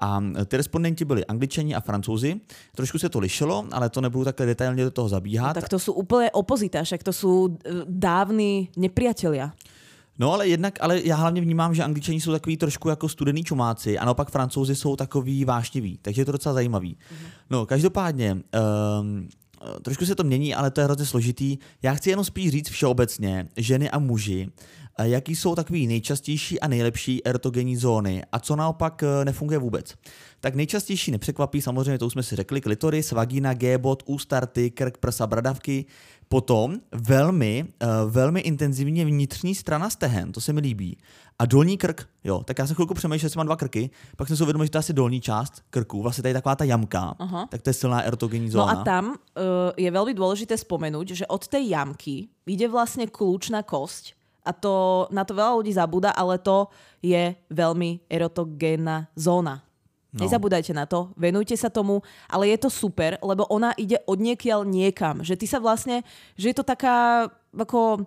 A ty respondenti byli Angličani a Francouzi. Trošku se to lišilo, ale to nebudu takhle detailně do toho zabíhat. No, tak to sú úplne opozita, však to sú dávni nepriatelia. No ale jednak, ale já hlavně vnímám, že Angličani jsou takový trošku jako studený čumáci a naopak Francouzi jsou takový vášniví, takže je to docela zajímavý. Mm-hmm. No každopádně, um, trošku se to mění, ale to je hrozně složitý. Já chci jenom spíš říct všeobecně, ženy a muži, jaký jsou takový nejčastější a nejlepší erotogenní zóny a co naopak nefunguje vůbec. Tak nejčastější nepřekvapí, samozřejmě to už jsme si řekli, klitoris, vagína, G-bod, ústa, rty, krk, prsa, bradavky. Potom velmi, velmi intenzivně vnitřní strana stehen, to se mi líbí. A dolní krk, jo, tak já jsem chvilku přemýšlel, že mám dva krky, pak jsem si uvědomil, že to je asi dolní část krku, vlastně tady taková ta jamka, aha. Tak to je silná erotogenní zóna. No a tam uh, je veľmi dôležité spomenúť, že od tej jamky ide vlastne kľúčna kosť a to, na to veľa ľudí zabúda, ale to je veľmi erotogénna zóna. No. Nezabúdajte na to, venujte sa tomu, ale je to super, lebo ona ide odniekiaľ niekam. Že ty sa vlastne, že je to taká, ako,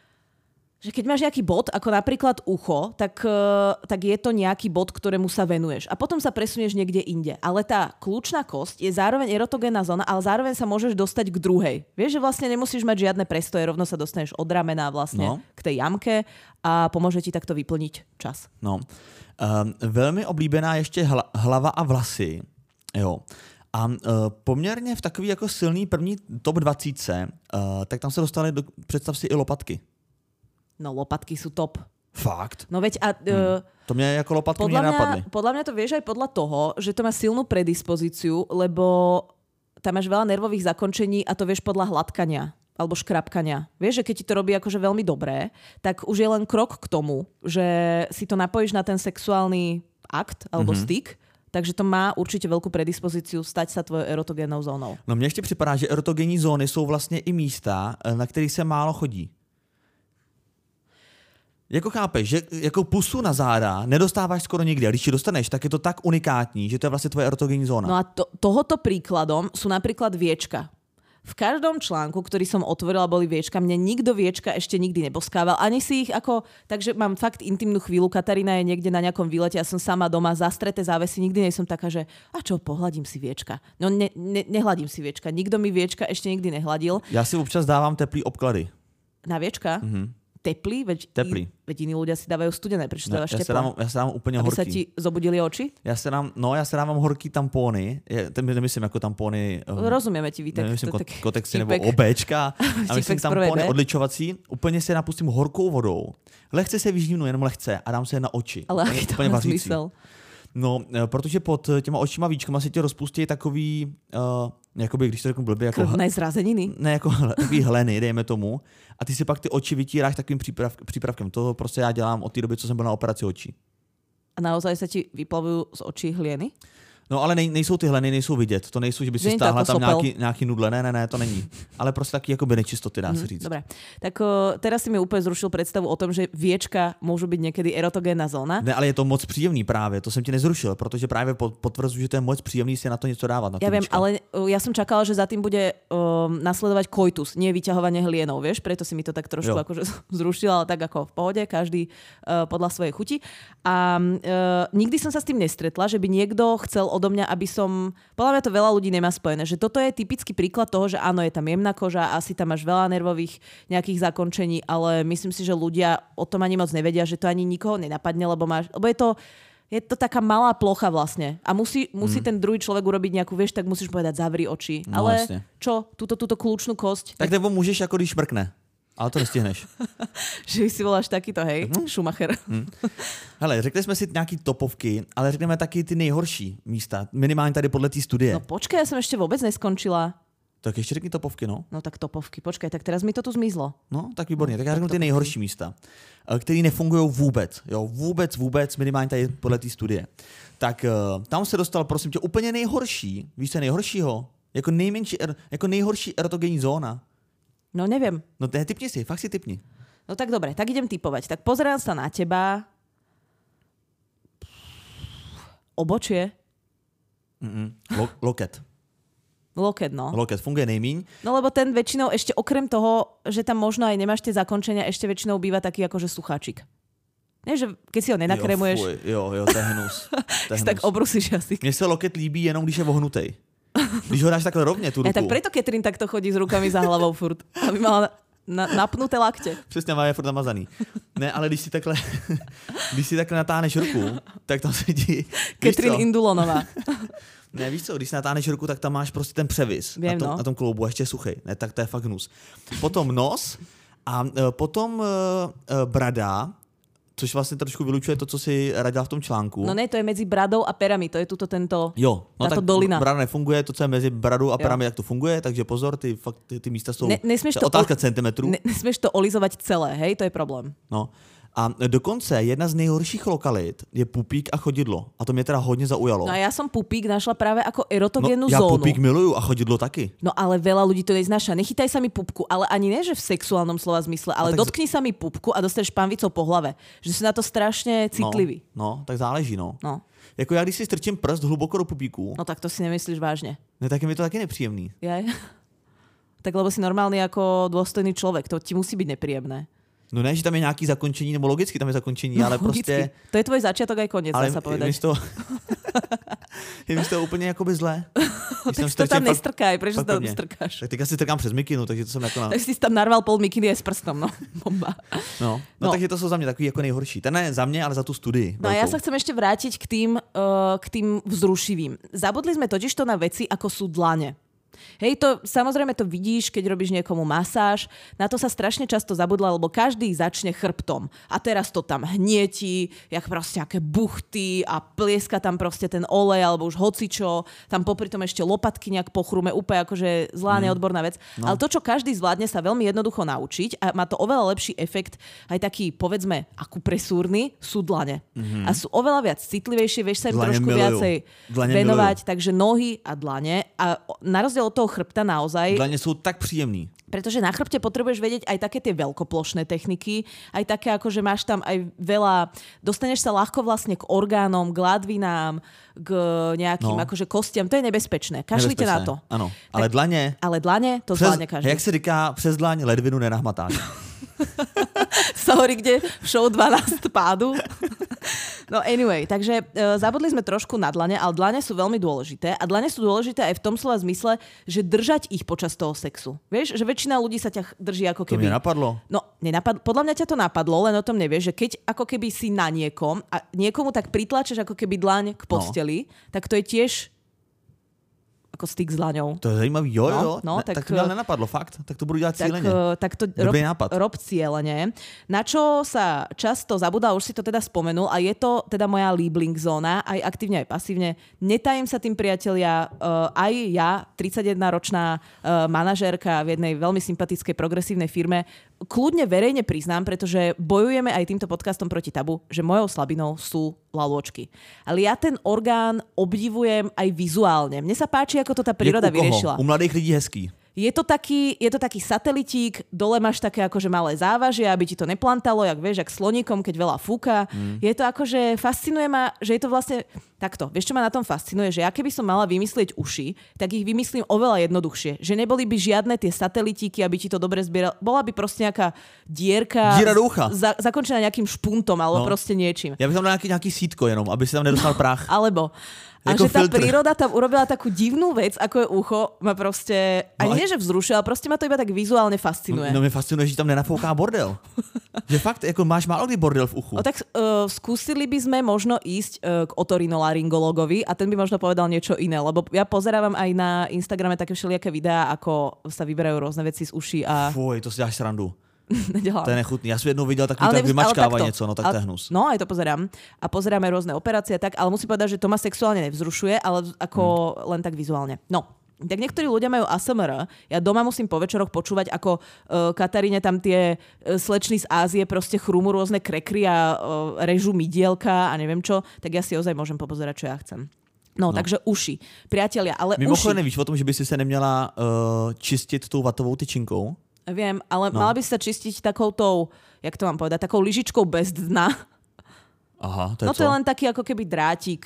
že keď máš nejaký bod, ako napríklad ucho, tak, tak je to nejaký bod, ktorému sa venuješ. A potom sa presunieš niekde inde. Ale tá kľúčna kosť je zároveň erotogénna zóna, ale zároveň sa môžeš dostať k druhej. Vieš, že vlastne nemusíš mať žiadne prestoje, rovno sa dostaneš od ramena vlastne no. k tej jamke a pomôže ti takto vyplniť čas. No. Um, velmi oblíbená ještě hla, hlava a vlasy. Jo. A uh, poměrně v takový jako silný první top dvacítce, uh, tak tam se dostali, do, představ si, i lopatky. No lopatky sú top. Fakt? No veď a... Uh, hmm. To mě jako lopatky mě napadly. Podľa mňa to vieš aj podľa toho, že to má silnú predispozíciu, lebo tam máš veľa nervových zakončení a to vieš podľa hladkania alebo škrapkania. Vieš, že keď ti to robí akože veľmi dobré, tak už je len krok k tomu, že si to napojíš na ten sexuálny akt alebo mm-hmm. styk, takže to má určitě velkou predispozíciu stať sa tvojou erotogénnou zónou. No mně ještě připadá, že erotogenní zóny jsou vlastně i místa, na kterých se málo chodí. Jako chápeš, že jako pusu na záda nedostáváš skoro nikdy. A když ji dostaneš, tak je to tak unikátní, že to je vlastně tvoje erotogenní zóna. No a to, tohoto príkladom sú napríklad viečka. V každom článku, ktorý som otvorila, boli viečka. Mne nikto viečka ešte nikdy neboskával. Ani si ich ako... Takže mám fakt intimnú chvíľu. Katarína je niekde na nejakom výlete. Ja som sama doma, zastreté závesy. Nikdy nie som taká, že a čo, pohľadím si viečka. No ne, ne, nehladím si viečka. Nikto mi viečka ešte nikdy nehladil. Ja si občas dávam teplý obklady. Na viečka? Mhm. Teplý? Veď, Teplý. Veď iní ľudia si dávajú studené. Prečo dávaš ja teplé? Ja sa dám úplne Aby horký. Aby sa ti zobudili oči? Ja sa dám, no, ja sa dávam horký tampóny. Ja nemyslím ako tampóny... Um, Rozumieme ti, Vítek. Nemyslím kot, kotexy nebo obéčka. A myslím tampóny odličovací. Úplně si je napustím horkou vodou. Lehce se vyždívnu, jenom lehce a dám se je na oči. Ale aký to má zmysel? No, protože pod těma očima víčkama se ti rozpustí takový, uh, jakoby, když to řeknu blbě, jako... Krvné zrazeniny? Ne, jako takový hleny, dejme tomu. A ty si pak ty oči vytíráš takovým příprav, přípravkem. To prostě já dělám od té doby, co jsem byl na operaci očí. A naozaj se ti vyplavují z očí hlieny? No ale nej, nejsou ty hleny, nejsou vidět. To nejsou, že by si stáhla tam nějaký, nějaký nudle. Ne, ne, ne, to není. Ale prostě taky jakoby nečistoty, dá se říct. Dobre. Tak o, teraz si mi úplně zrušil představu o tom, že viečka můžu být někdy erotogénna zóna. Ne, ale je to moc příjemný právě. To jsem ti nezrušil, protože právě potvrzuji, že to je moc příjemný si na to něco dávat. Na ja viem, ale o, ja som čakala, že za tým bude o, nasledovať koitus, nie vyťahovanie hlienou, vieš? Preto si mi to tak trošku jo. akože zrušil, ale tak ako v pohode, každý o, podľa svojej chuti. A o, nikdy som sa s tým nestretla, že by niekto chcel odo mňa, aby som... Podľa mňa to veľa ľudí nemá spojené, že toto je typický príklad toho, že áno, je tam jemná koža, asi tam máš veľa nervových nejakých zakončení, ale myslím si, že ľudia o tom ani moc nevedia, že to ani nikoho nenapadne, lebo máš... Lebo je to, je to taká malá plocha vlastne. A musí, musí mm. ten druhý človek urobiť nejakú, vieš, tak musíš povedať, zavri oči. No, ale vlastne. Čo? Túto, túto kľúčnú kosť? Tak nebo môžeš, ako když šmrkne. Ale to nestihneš. Že si voláš takýto, hej, hmm. Schumacher. Hmm. Hele, řekli jsme si nějaký topovky, ale řekneme taky ty nejhorší místa. Minimálně tady podle té studie. No počkej, ja som ešte vôbec neskončila. Tak ještě řekni topovky, no. No tak topovky, počkej, tak teraz mi to tu zmizlo. No, tak výborně. Tak já řeknu ty nejhorší místa, které nefungují vůbec. Jo, vůbec, vůbec, minimálně tady podle té studie. Tak tam se dostal, prosím tě, úplně nejhorší. Víš, co je nejhoršího? Jako nejmenší, jako nejhorší erotogenní zóna. No neviem. No typni si, fakt si typni. No tak dobre, tak idem typovať. Tak pozerám sa na teba. Obočie? Lo- loket. Loket, no. Loket funguje nejmíň. No lebo ten väčšinou ešte okrem toho, že tam možno aj nemáš tie zakončenia, ešte väčšinou býva taký akože sucháčik. Ne, že keď si ho nenakremuješ... Jo, fuj, jo, jo, to je hnus. To je hnus. Tak obrusíš jazyk. Mně se loket líbí jenom, když je vohnutej. Když ho dáš takhle rovně, tu ruku. Ja, tak preto Catherine takto chodí s rukami za hlavou furt. Aby mala na, napnuté lakte. Přesně, má je furt namazaný. Ne, ale když si takhle, když si takhle natáhneš ruku, tak tam sedí... Catherine Indulonová. Ne, víš co, když si natáhneš ruku, tak tam máš prostě ten převis Vím, na, tom, no. na tom kloubu, ještě suchej. Ne, tak to je fakt hnus. Potom nos a uh, potom uh, uh, brada, což vlastně trošku vylučuje to, co si radila v tom článku. No ne, to je mezi bradou a perami, to je tuto tento, jo, no táto tak dolina. Brada nefunguje, to, co je mezi bradou a perami, jak to funguje, takže pozor, ty, fakt, ty, ty místa jsou, ne, to je otázka centimetrů. Ne, nesmieš to olizovať celé, hej, to je problém. No. A dokonce jedna z nejhorších lokalit je pupík a chodidlo. A to mě teda hodně zaujalo. No a ja som pupík našla práve ako erotogénnu no, ja zónu. Ja pupík miluju a chodidlo taky. No ale veľa ľudí to neznáša. Nechytaj sa mi pupku, ale ani ne, že v sexuálnom slova zmysle, ale tak... dotkni sa mi pupku a dostaneš pánvicou po hlave. Že sú na to strašne citlivý. No, no, tak záleží, no. No. Jako já, když si strčím prst hluboko do pupíku. No tak to si nemyslíš vážne. Ne, tak je mi to taky nepříjemný. Jaj. Tak lebo si normálny ako dôstojný človek. To ti musí byť nepríjemné. No ne, že tam je nějaký zakončení, nebo logicky tam je zakončení, no, ale logicky. Prostě... To je tvoj začiatok aj koniec, dá sa povedať. Ale je mi z toho úplně jakoby zle. Tak si to tam nestrkaj, prečo si to tam strkáš? Tak teďka si strkám přes mikinu, takže to jsem jako na... Tak si tam narval pol mikiny aj s prstom, no. Bomba. No, no, no. Takže to jsou za mě takový jako nejhorší. Ten ne za mě, ale za tu studii. No a ja sa chcem ešte vrátiť k tým, uh, k tým vzrušivým. Zabudli sme totiž to na veci, ako sú dlane. Hej, to samozrejme to vidíš, keď robíš niekomu masáž. Na to sa strašne často zabudla, lebo každý začne chrbtom. A teraz to tam hnietí, jak proste nejaké buchty a plieska tam proste ten olej, alebo už hocičo. Tam popri tom ešte lopatky nejak pochrúme, úplne akože zlá, mm. neodborná vec. No. Ale to, čo každý zvládne sa veľmi jednoducho naučiť a má to oveľa lepší efekt, aj taký, povedzme, akupresúrny, sú dlane. Mm-hmm. A sú oveľa viac citlivejšie, vieš sa im dlane trošku milujú. Viacej dlane venovať. Milujú. Takže nohy a dlane. A na rozdiel od toho chrbta naozaj. Dlane sú tak príjemný. Pretože na chrbte potrebuješ vedieť aj také tie veľkoplošné techniky, aj také ako, že máš tam aj veľa, dostaneš sa ľahko vlastne k orgánom, k ladvinám, k nejakým no. akože kostiam, to je nebezpečné. Kašlite na to. Áno, ale tak, dlane... Ale dlane, to přes, zvládne každý. Jak se říká, přes dlaň ledvinu nenahmatáš. Sa hovorí, kde v show dvanásť pádu. No anyway, takže e, zabudli sme trošku na dlane, ale dlane sú veľmi dôležité a dlane sú dôležité aj v tom slova zmysle, že držať ich počas toho sexu. Vieš, že väčšina ľudí sa ťa drží ako keby... To mi napadlo. No, nenapadlo. Podľa mňa ťa to napadlo, len o tom nevieš, že keď ako keby si na niekom a niekomu tak pritlačeš ako keby dlaň k posteli, no. tak to je tiež ako styk s dlaňou. To je zajímavý, jo, no, jo. No, ne, tak, tak to mi nenapadlo, fakt. Tak to budu dělat tak, cíleně. Tak to rob, rob cíleně. Na čo sa často zabudá, už si to teda spomenul, a je to teda moja Liebling zóna, aj aktívne, aj pasívne. Netajím sa tým, priatelia, uh, aj ja, tridsaťjedenročná uh, manažérka v jednej veľmi sympatickej progresívnej firme, kľudne verejne priznám, pretože bojujeme aj týmto podcastom proti tabu, že mojou slabinou sú lalôčky. Ale ja ten orgán obdivujem aj vizuálne. Mne sa páči, ako to tá príroda vyriešila. U mladých lidí hezký. Je to taký, je to taký satelitík, dole máš také akože malé závažie, aby ti to neplantalo, jak vieš, jak sloníkom, keď veľa fúka. Mm. Je to akože, fascinuje ma, že je to vlastne takto. Vieš, čo ma na tom fascinuje? Že ja keby som mala vymyslieť uši, tak ich vymyslím oveľa jednoduchšie. Že neboli by žiadne tie satelitíky, aby ti to dobre zbieral. Bola by proste nejaká dierka za, zakončená nejakým špuntom alebo no. proste niečím. Ja by som dal nejaký, nejaký sítko jenom, aby si tam nedostal prach. Alebo a že tá filtr. Príroda tam urobila takú divnú vec, ako je ucho, ma proste, ani no nie, že vzrušuje, ale proste ma to iba tak vizuálne fascinuje. No, no mi fascinuje, že tam nenafouká bordel. Že fakt, ako máš málo kdy bordel v uchu. No tak uh, skúsili by sme možno ísť uh, k otorinolaryngologovi a ten by možno povedal niečo iné, lebo ja pozerávam aj na Instagrame také všelijaké videá, ako sa vyberajú rôzne veci z uší a... Fuj, to si dáš srandu. Nedělám. To je nechutný. Já jsem jednou viděl takový tak vymačkává něco, no tak ale, to je hnus. No, aj to pozerám. A pozeráme rôzne operácie tak, ale musím povedať, že to ma sexuálne nevzrušuje, ale ako hmm. len tak vizuálne. No. Tak niektorí ľudia majú á es em er. Ja doma musím po večeroch počúvať, ako uh, Kataríne tam tie uh, slečny z Ázie proste chrúmu rôzne krekry a uh, režu midielka a neviem čo, tak ja si ozaj môžem popozerať, čo ja chcem. No, no, takže uši. Priatelia, ale Mimochodem, uši... nevíš o tom, že by si se neměla uh, čistit tou vatovou tyčinkou? Viem, ale no. mala by sa čistiť takoutou, jak to mám povedať, takou lyžičkou bez dna. Aha, to je No to co? je len taký ako keby drátik.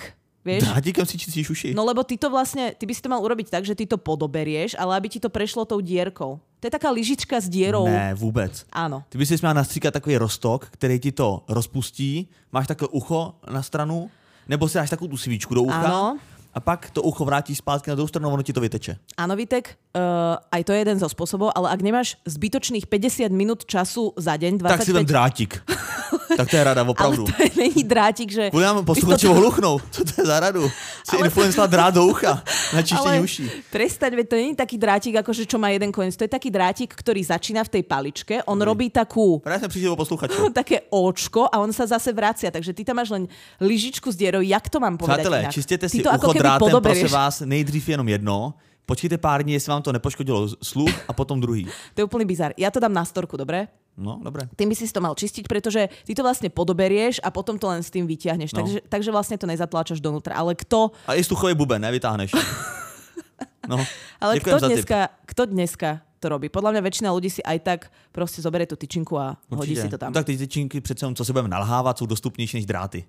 Vieš? Drátikom si čistíš uši. No lebo ty to vlastne, ty by si to mal urobiť tak, že ty to podoberieš, ale aby ti to prešlo tou dierkou. To je taká lyžička s dierou. Ne, vůbec. Áno. Ty by si měla nastříkat takový roztok, který ti to rozpustí, máš takové ucho na stranu, nebo si dáš takovou tu svíčku do ucha. Áno. A pak to ucho vrátíš zpátky na druhou stranu, ono ti to vyteče. Áno, Vitek, uh, aj to je jeden zo spôsobov, ale ak nemáš zbytočných päťdesiat minút času za deň, dvadsaťpäť... Tak si vem drátik. Tak to je rada, opravdu. Ale to je, není drátik, že... Kvůli nám posluchači to... ohluchnou. Co to je za radu? Si ale... influencela drát do ucha na čištení uší. Prestaň, veď to není taký drátik, akože čo má jeden koniec. To je taký drátik, ktorý začína v tej paličke. On Uj. robí takú... Práve sme prišli o posluchačov. Také óčko a on sa zase vracia. Takže ty tam máš len lyžičku s dierou. Jak to mám povedať Přátelé, inak? čistěte si ucho drátem, prosím vás, nejdřív jenom jedno. Počkejte pár dní, jestli vám to nepoškodilo sluch a potom druhý. To je úplný bizar. Ja to dám na storku, dobre? No, dobre. Tým by si to mal čistiť, pretože ty to vlastne podoberieš a potom to len s tým vyťahneš. No. Takže, takže vlastne to nezatláčaš donútra. Ale kto... A i sluchový buben, nevytáhneš. No, ale kto dneska, kto dneska to robí? Podľa mňa väčšina ľudí si aj tak proste zoberie tú tyčinku a Určite. hodí si to tam. No, tak ty tyčinky přece, co si budeme nalhávat, jsou dostupnější než dráty.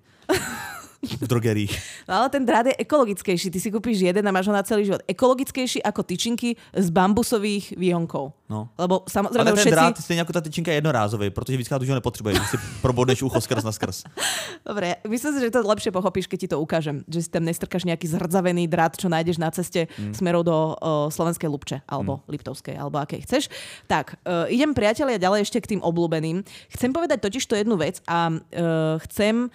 V drogerích. No ale ten drát je ekologickejší. Ty si kúpiš jeden a máš ho na celý život. Ekologickejší ako tyčinky z bambusových výhonkov. No. Lebo samozrejme ale ten všetci... drát stejně jako ta tyčinka je jednorázový, protože víckrát už ho nepotřebuješ, když si probodneš ucho skrz na skrz. Dobre, myslím si, že to lepšie pochopíš, keď ti to ukážem. Že si tam nestrkáš nejaký zhrdzavený drát, čo nájdeš na ceste mm. smerou do uh, Slovenskej Lubče, alebo mm. Liptovskej, alebo akej chceš. Tak, uh, idem priatelia ďalej ešte k tým obľúbeným. Chcem povedať totiž to jednu vec a uh, chcem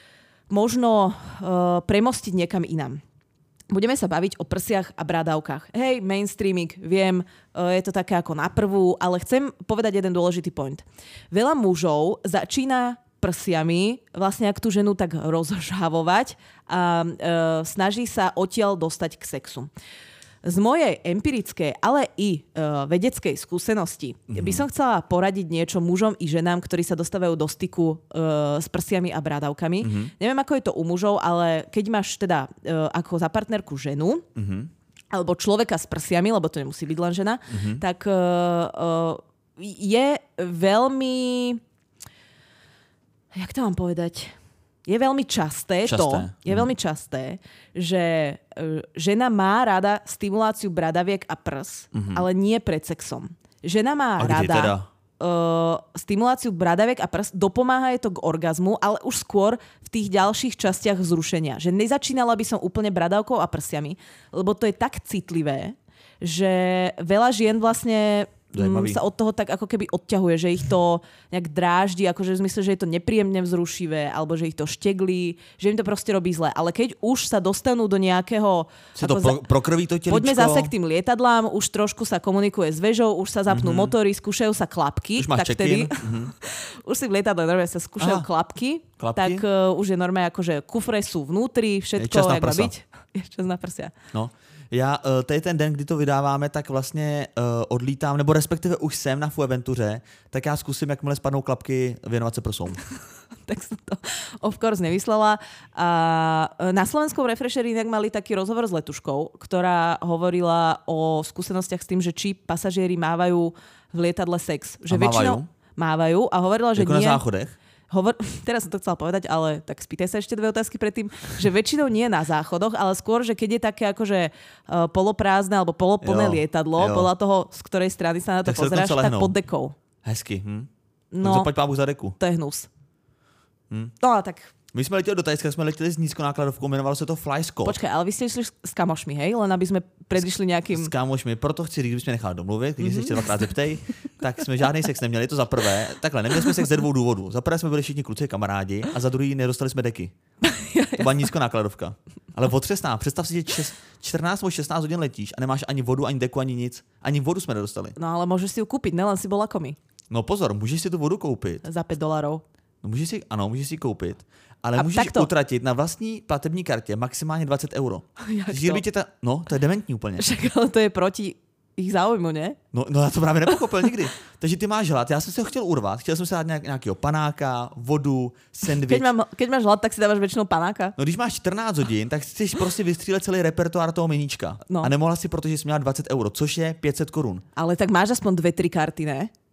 možno uh, premostiť niekam inám. Budeme sa baviť o prsiach a bradavkách. Hej, mainstreaming, viem, uh, je to také ako na prvú, ale chcem povedať jeden dôležitý point. Veľa mužov začína prsiami vlastne ak tú ženu tak rozžhavovať a uh, snaží sa odtiaľ dostať k sexu. Z mojej empirickej, ale i uh, vedeckej skúsenosti mm-hmm. by som chcela poradiť niečo mužom i ženám, ktorí sa dostávajú do styku uh, s prsiami a brádavkami. Mm-hmm. Neviem, ako je to u mužov, ale keď máš teda uh, ako za partnerku ženu, mm-hmm. alebo človeka s prsiami, lebo to nemusí byť len žena, mm-hmm. tak uh, uh, je veľmi... Jak to mám povedať? Je veľmi časté, časté. to, je mm. veľmi časté, že uh, žena má rada stimuláciu bradaviek a prs, mm-hmm. ale nie pred sexom. Žena má a rada teda? uh, stimuláciu bradaviek a prs, dopomáha je to k orgazmu, ale už skôr v tých ďalších častiach vzrušenia. Že nezačínala by som úplne bradavkou a prsiami, lebo to je tak citlivé, že veľa žien vlastne... Zajímavý. Sa od toho tak ako keby odťahuje, že ich to nejak dráždi, akože v zmysle, že je to nepríjemne vzrušivé, alebo že ich to šteglí, že im to proste robí zle. Ale keď už sa dostanú do nejakého... Sa to pro, prokrví to teličko? Poďme zase k tým lietadlám, už trošku sa komunikuje s vežou, už sa zapnú mm-hmm. motory, skúšajú sa klapky. Už máš tak check-in. Vtedy, mm-hmm. už si v lietadle normálne sa skúšajú klapky, klapky, tak uh, už je normálne akože kufre sú vnútri, všetko, jak má byť. Je čas na prsia. No. Já tady ten den, kdy to vydáváme, tak vlastně uh, odlítám, nebo respektive už jsem na Fuerteventuře, tak já zkusím, jakmile spadnou klapky, věnovat se prsům. Tak som to of course nevyslela. A na Slovenskom Refresheri inak mali taký rozhovor s letuškou, ktorá hovorila o skúsenostiach s tým, že či pasažieri mávajú v lietadle sex. Že a mávajú? väčšinou mávajú a hovorila, že jako nie. na záchodech? Hovor... Teraz som to chcela povedať, ale tak spýtaj sa ešte dve otázky predtým, že väčšinou nie na záchodoch, ale skôr, že keď je také akože uh, poloprázdne alebo poloplné jo, lietadlo, jo. podľa toho, z ktorej strany sa na to tak pozeráš, tak pod dekou. Hezky. Hm? No, zapaď pábu za deku. To je hnus. Hm? No a tak... My jsme letěli do Tajska, jsme letěli s nízkonákladovkou, jmenovalo se to FlyScott. Počkej, ale vy ste išli s kamošmi, hej? Len aby sme predišli nejakým... S kamošmi, proto chci říct, kdybychom nechali domluvit, když mm-hmm. se ještě dvakrát zeptej, tak jsme žádný sex neměli, to za prvé. Takhle, neměli jsme sex ze dvou důvodů. Za prvé jsme byli všichni kluci kamarádi a za druhý nedostali jsme deky. To byla nízkonákladovka. Ale otřesná, představ si, že čtrnáct nebo šestnáct hodin letíš a nemáš ani vodu, ani deku, ani nic. Ani vodu jsme nedostali. No ale můžeš si ju kúpiť, nelen si bol lakomý. No pozor, můžeš si tu vodu koupit. Za pět dolarů. No můžeš si, ano, můžeš si koupit. Ale a můžeš takto utratit na vlastní platební kartě maximálně dvacet euro. Tě ta, no, to je dementní úplně. Však ale to je proti ich záujmu, ne? No, no já to právě nepochopil nikdy. Takže ty máš hlad, já jsem si ho chtěl urvat, chtěl jsem si dát nějak, nějakého panáka, vodu, sendvič. Keď, mám, keď máš hlad, tak si dáváš většinou panáka. No když máš čtrnáct hodin, tak chceš prostě vystřílet celý repertoár toho meníčka. No. A nemohla si, protože jsi měla dvacet euro, což je pět set korun. Ale tak máš aspoň dve, tri karty, ne?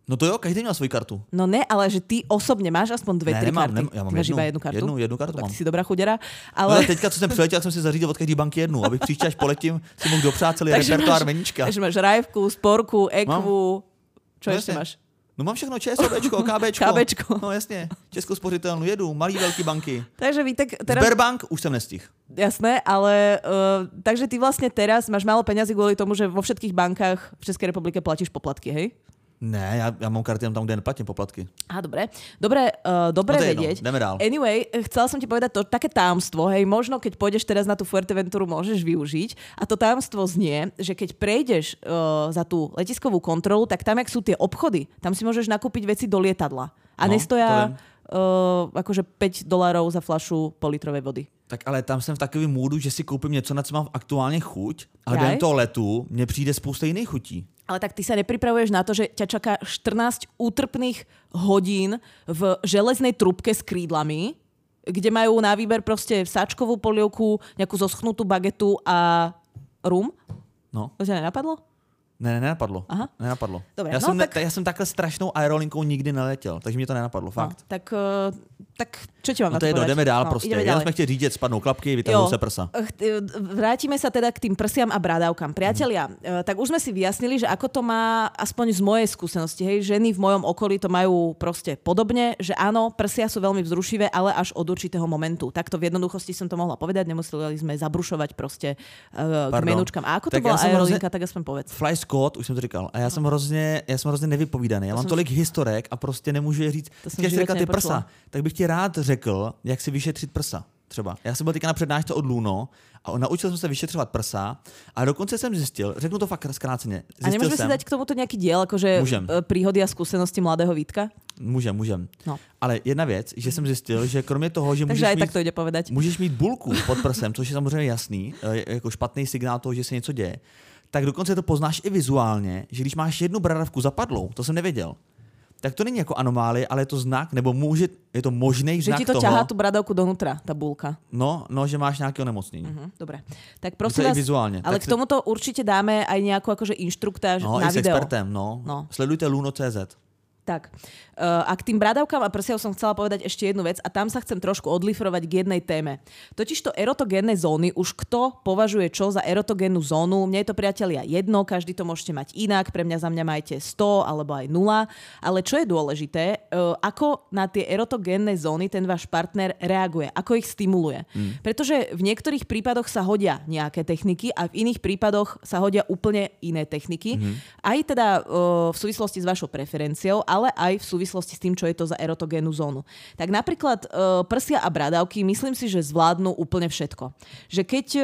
No to jo, každý měl svoji kartu. No ne, ale že ty osobně máš aspoň dvě, ne, tři nemám, karty. Nem, já mám máš jednu, iba jednu kartu? Jednu, jednu kartu tak mám. Ty si dobrá chudera. Ale... No, ale teďka, co jsem přiletěl, jsem si zařídil od každé banky jednu, abych příště, až poletím, si mohl dopřát celý repertoár meníčka. Takže máš Rajevku, Sporku, Ekvu, čo no, ještě máš? No mám všechno, ČSOBčko, KBčko. KBčko. No jasně, Českou spořitelnu jedu, malý, velký banky. Takže vy tak teraz... Sberbank už jsem nestihl. Jasné, ale uh, takže ty vlastne teraz máš málo peňazí kvôli tomu, že vo všetkých bankách v Českej republike platíš poplatky, hej? Ne, já, já mám karty tam, kde neplatím poplatky. Á, dobre. Dobre, uh, dobre no vedieť. Jdeme dál. Anyway, chcela som ti povedať to také tajomstvo, hej, možno keď pôjdeš teraz na tú Fuerteventuru, môžeš využiť. A to tajomstvo znie, že keď prejdeš uh, za tú letiskovú kontrolu, tak tam, jak sú tie obchody, tam si môžeš nakúpiť veci do lietadla. A no, nestoja uh, akože päť dolárov za flašu politrovej vody. Tak ale tam jsem v takovém můdu, že si koupím něco, na co mám aktuálně chuť, ale během toho letu mně přijde spousta jiných chutí. Ale tak ty sa nepripravuješ na to, že ťa čaká štrnásť útrpných hodín v železnej trubke s krídlami, kde majú na výber proste sáčkovú polievku, nejakú zoschnutú bagetu a rum? No. To ťa nenapadlo? Ne, ne, nenapadlo. Aha. Nenapadlo. Dobre, já, no, jsem tak... ne, já jsem takhle strašnou aerolinkou nikdy neletěl, takže mě to nenapadlo, fakt. No, tak, uh, tak čo ti mám no na to to jedno, povedať? jdeme dál no, prostě. Já jsme chtěli říct, že spadnou klapky, vytahujú se prsa. Vrátime sa teda k tým prsiam a brádavkám. Priatelia, hmm. tak už sme si vyjasnili, že ako to má aspoň z mojej skúsenosti. Hej, ženy v mojom okolí to majú proste podobne, že áno, prsia sú veľmi vzrušivé, ale až od určitého momentu. Takto v jednoduchosti som to mohla povedať, nemuseli sme zabrušovať proste uh, k menúčkam. A ako to tak bola aerolinka, hrozně... tak aspoň povedz. Fly Scott, už jsem to říkal. A já jsem hrozně, já jsem hrozně nevypovídaný. Já to mám jsem... tolik historek a prostě nemůžu je říct. Když říkat ty prsa, tak bych ti rád řekl, jak si vyšetřit prsa. Třeba. Já jsem byl teďka na přednášce od Luno a naučil jsem se vyšetřovat prsa a dokonce jsem zjistil, řeknu to fakt zkráceně. A nemůžeme si dať k tomuto nějaký diel, jakože príhody a skúsenosti mladého Vítka? Můžem, můžem. No. Ale jedna věc, že jsem zjistil, že kromě toho, že můžeš, mít, tak to ide povedať. můžeš mít bulku pod prsem, což je samozřejmě jasný, jako špatný signál toho, že se něco děje, tak dokonce to poznáš i vizuálně, že když máš jednu bradavku zapadlou, to jsem nevěděl, tak to není jako anomálie, ale je to znak, nebo může, je to možný znak toho... Že ti to ťahá tu bradavku donútra, tá bulka. No, no, že máš nějaké onemocnění. Uh-huh, dobre. Tak prosím vás, vizuálně. ale tak k tomuto určite dáme aj nejakú akože inštruktáž no, na i s video. expertem, no. no. Sledujte luno tečka cé zet. Tak. Uh, a k tým bradavkám a prsiam som chcela povedať ešte jednu vec a tam sa chcem trošku odlifrovať k jednej téme. Totižto erotogénne zóny, už kto považuje čo za erotogénnu zónu, mne je to, priatelia, jedno, každý to môžete mať inak, pre mňa za mňa majte sto alebo aj nula, ale čo je dôležité, uh, ako na tie erotogénne zóny ten váš partner reaguje, ako ich stimuluje. Mm. Pretože v niektorých prípadoch sa hodia nejaké techniky a v iných prípadoch sa hodia úplne iné techniky. Mm. Aj teda uh, v súvislosti s vašou preferenciou, ale aj v súvislosti s tým, čo je to za erotogénnu zónu. Tak napríklad uh, prsia a bradavky, myslím si, že zvládnu úplne všetko. Že keď uh,